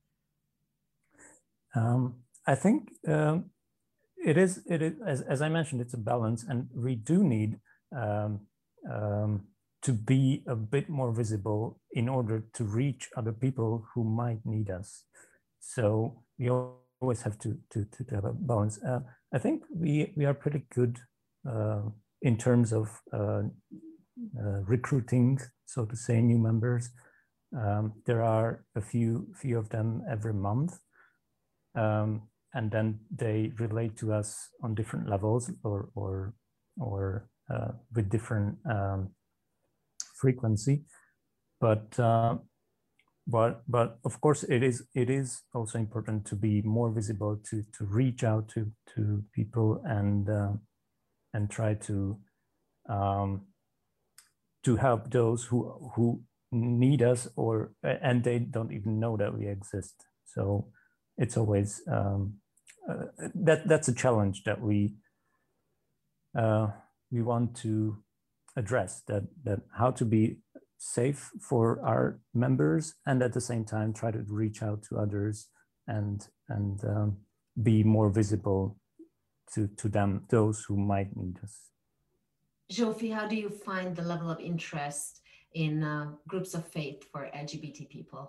Um, I think um, it is, it is as, as I mentioned, it's a balance, and we do need um, um, to be a bit more visible in order to reach other people who might need us. So we always have to, to, to have a balance. Uh, I think we, we are pretty good uh, in terms of uh, uh, recruiting, so to say, new members. Um, there are a few, few of them every month. Um, and then they relate to us on different levels or, or, or uh, with different um, frequency. But, uh, but, but of course, it is, it is also important to be more visible, to, to reach out to, to people and, uh, and try to, um, to help those who, who need us, or, and they don't even know that we exist. So it's always, um, uh, that that's a challenge that we, uh, we want to address, that, that how to be safe for our members and at the same time try to reach out to others and, and um, be more visible to, to them, those who might need us. Zsófi, how do you find the level of interest in uh, groups of faith for L G B T people?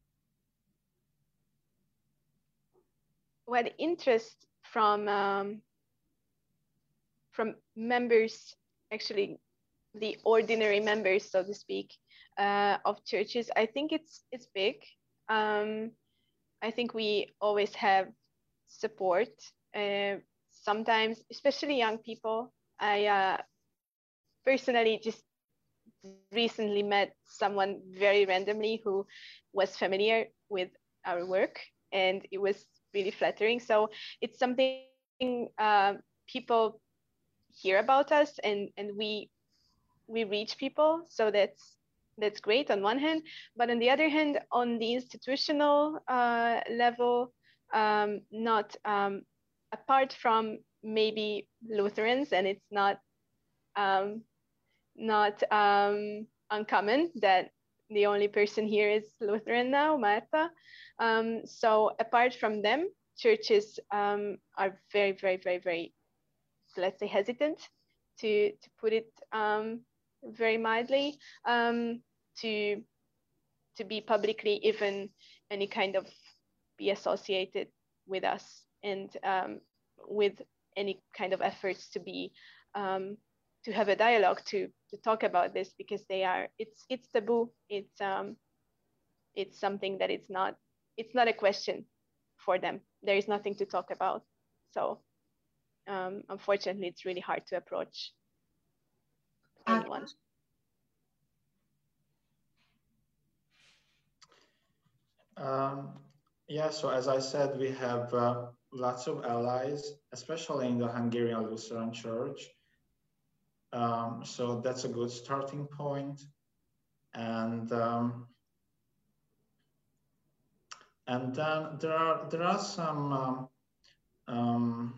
Well, interest from um, from members, actually the ordinary members, so to speak, uh, of churches, I think it's it's big. Um, I think we always have support. Uh, sometimes, especially young people. I uh, personally just recently met someone very randomly who was familiar with our work, and it was really flattering. So it's something uh, people hear about us, and and we we reach people. So that's that's great on one hand, but on the other hand, on the institutional uh, level, um, not um, apart from maybe Lutherans, and it's not um, not um, uncommon that the only person here is Lutheran now, Marta. Um, so apart from them, churches um, are very, very, very, very, let's say, hesitant, to to put it um, very mildly, um, to to be publicly even any kind of be associated with us, and um, with any kind of efforts to be um, to have a dialogue, to to talk about this, because they are it's it's taboo. It's um it's something that it's not it's not a question for them. There is nothing to talk about. So um, unfortunately, it's really hard to approach anyone. Um, yeah, so as I said, we have uh, lots of allies, especially in the Hungarian Lutheran Church. Um, so that's a good starting point. And um, and then there are there are some um, um,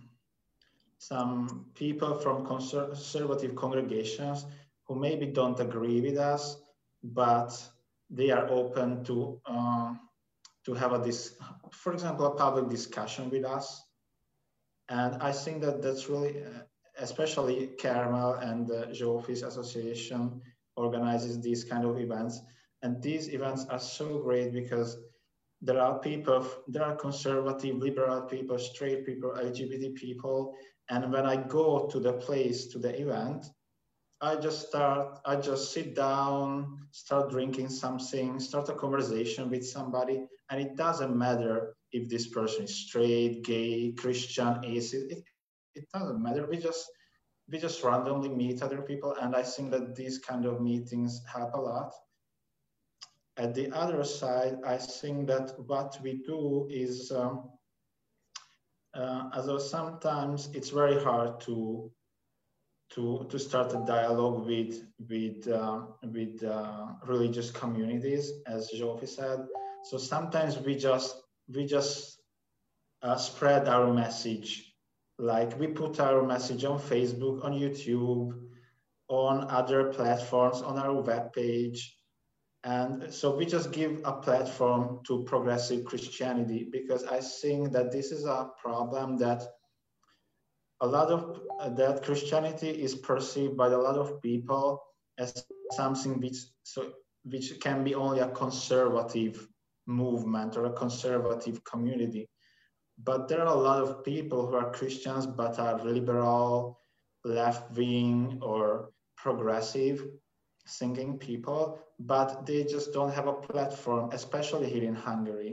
some people from conservative congregations who maybe don't agree with us, but they are open to uh, to have a this, for example, a public discussion with us. And I think that that's really, uh, especially Carmel and the Zsófi's Association organizes these kind of events. And these events are so great because there are people, there are conservative, liberal people, straight people, L G B T people. And when I go to the place, to the event, I just start, I just sit down, start drinking something, start a conversation with somebody. And it doesn't matter if this person is straight, gay, Christian, atheist, it, it doesn't matter. We just, we just randomly meet other people. And I think that these kind of meetings help a lot. At the other side, I think that what we do is, um, uh, although sometimes it's very hard to to to start a dialogue with with uh, with uh, religious communities, as Zsófi said. So sometimes we just we just uh, spread our message, like we put our message on Facebook, on YouTube, on other platforms, on our webpage. And so we just give a platform to progressive Christianity, because I think that this is a problem that a lot of uh, that Christianity is perceived by a lot of people as something which so which can be only a conservative movement or a conservative community. But there are a lot of people who are Christians but are liberal, left-wing, or progressive thinking people, but they just don't have a platform, especially here in Hungary.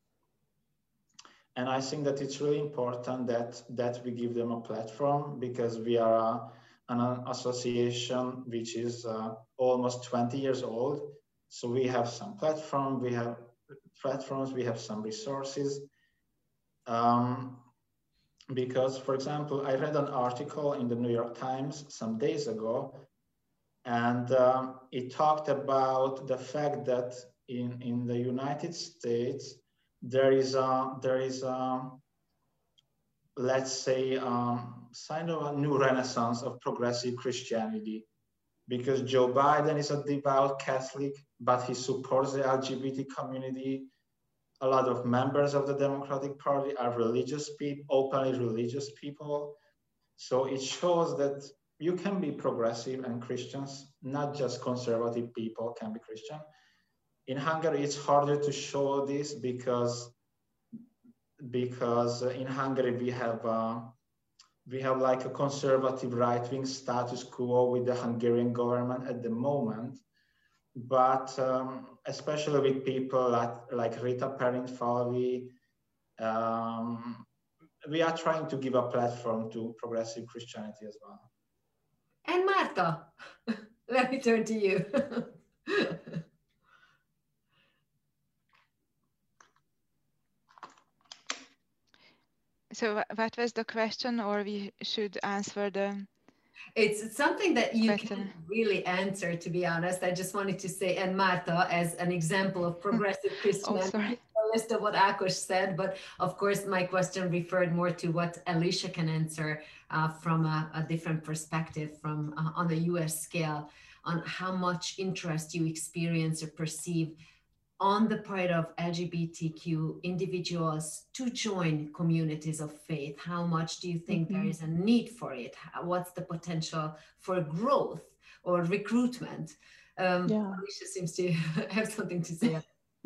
And I think that it's really important that, that we give them a platform, because we are a, an association which is uh, almost twenty years old. So we have some platform, we have platforms, we have some resources. Um, because, for example, I read an article in the New York Times some days ago, and uh, it talked about the fact that in, in the United States, there is a, there is a, let's say, um, kind of a new renaissance of progressive Christianity, because Joe Biden is a devout Catholic, but he supports the L G B T community. A lot of members of the Democratic Party are religious people, openly religious people. So it shows that you can be progressive and Christians, not just conservative people can be Christian. In Hungary, it's harder to show this because, because in Hungary we have uh, we have like a conservative right-wing status quo with the Hungarian government at the moment. But um, especially with people like, like Rita Perint-Falvi, um, we are trying to give a platform to progressive Christianity as well. And Marta, let me turn to you. So what was the question, or we should answer the It's something that you question. can really answer, to be honest. I just wanted to say, and Marta, as an example of progressive Christianity, oh, sorry. a list of what Ákos said, but of course my question referred more to what Alicia can answer uh, from a, a different perspective, from uh, on a U S scale, on how much interest you experience or perceive on the part of L G B T Q individuals to join communities of faith. How much do you think mm-hmm. there is a need for it? How, what's the potential for growth or recruitment? Um, yeah. Alicia seems to have something to say.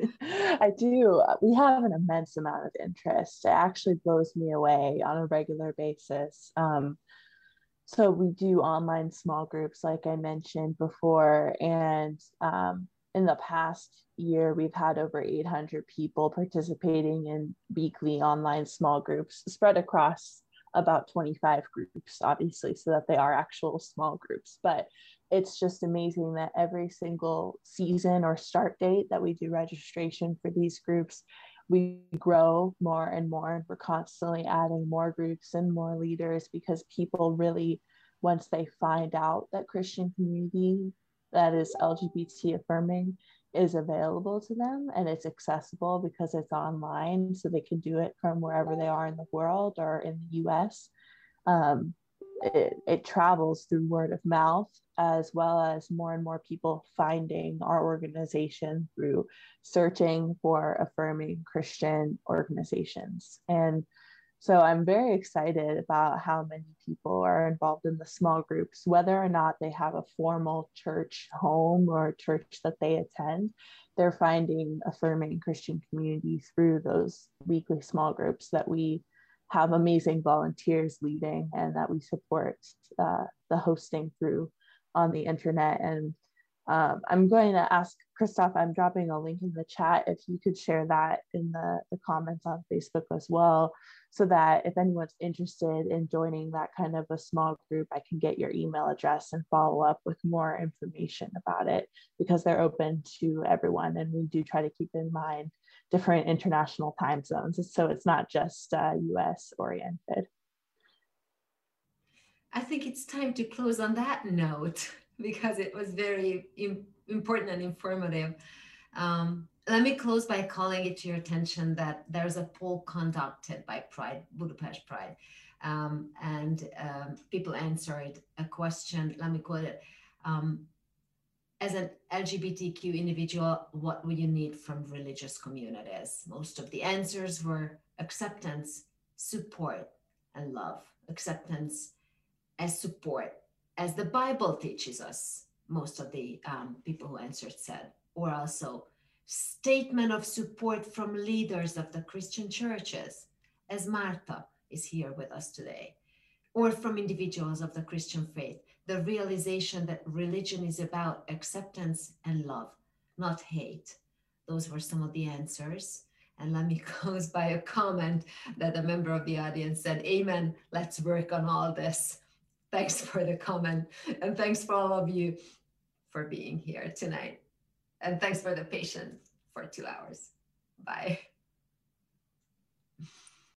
I do. We have an immense amount of interest. It actually blows me away on a regular basis. Um, so we do online small groups, like I mentioned before, and um, in the past year, we've had over eight hundred people participating in weekly online small groups spread across about twenty-five groups, obviously, so that they are actual small groups. But it's just amazing that every single season or start date that we do registration for these groups, we grow more and more. We're constantly adding more groups and more leaders because people really, once they find out that Christian community that is L G B T affirming is available to them and it's accessible because it's online, so they can do it from wherever they are in the world or in the U S. Um, it, it travels through word of mouth, as well as more and more people finding our organization through searching for affirming Christian organizations. And so I'm very excited about how many people are involved in the small groups, whether or not they have a formal church home or a church that they attend. They're finding affirming Christian community through those weekly small groups that we have amazing volunteers leading and that we support uh, the hosting through on the internet. And um, I'm going to ask Christoph, I'm dropping a link in the chat, if you could share that in the, the comments on Facebook as well, so that if anyone's interested in joining that kind of a small group, I can get your email address and follow up with more information about it, because they're open to everyone. And we do try to keep in mind different international time zones, so it's not just uh, U S oriented. I think it's time to close on that note, because it was very im- important and informative. Um, let me close by calling it to your attention that there's a poll conducted by Pride, Budapest Pride, um, and um, people answered a question. Let me quote it. Um, as an L G B T Q individual, what would you need from religious communities? Most of the answers were acceptance, support, and love. Acceptance as support, as the Bible teaches us, most of the um, people who answered said, or also statement of support from leaders of the Christian churches, as Marta is here with us today, or from individuals of the Christian faith, the realization that religion is about acceptance and love, not hate. Those were some of the answers. And let me close by a comment that a member of the audience said, amen, let's work on all this. Thanks for the comment, and thanks for all of you for being here tonight. And thanks for the patience for two hours. Bye.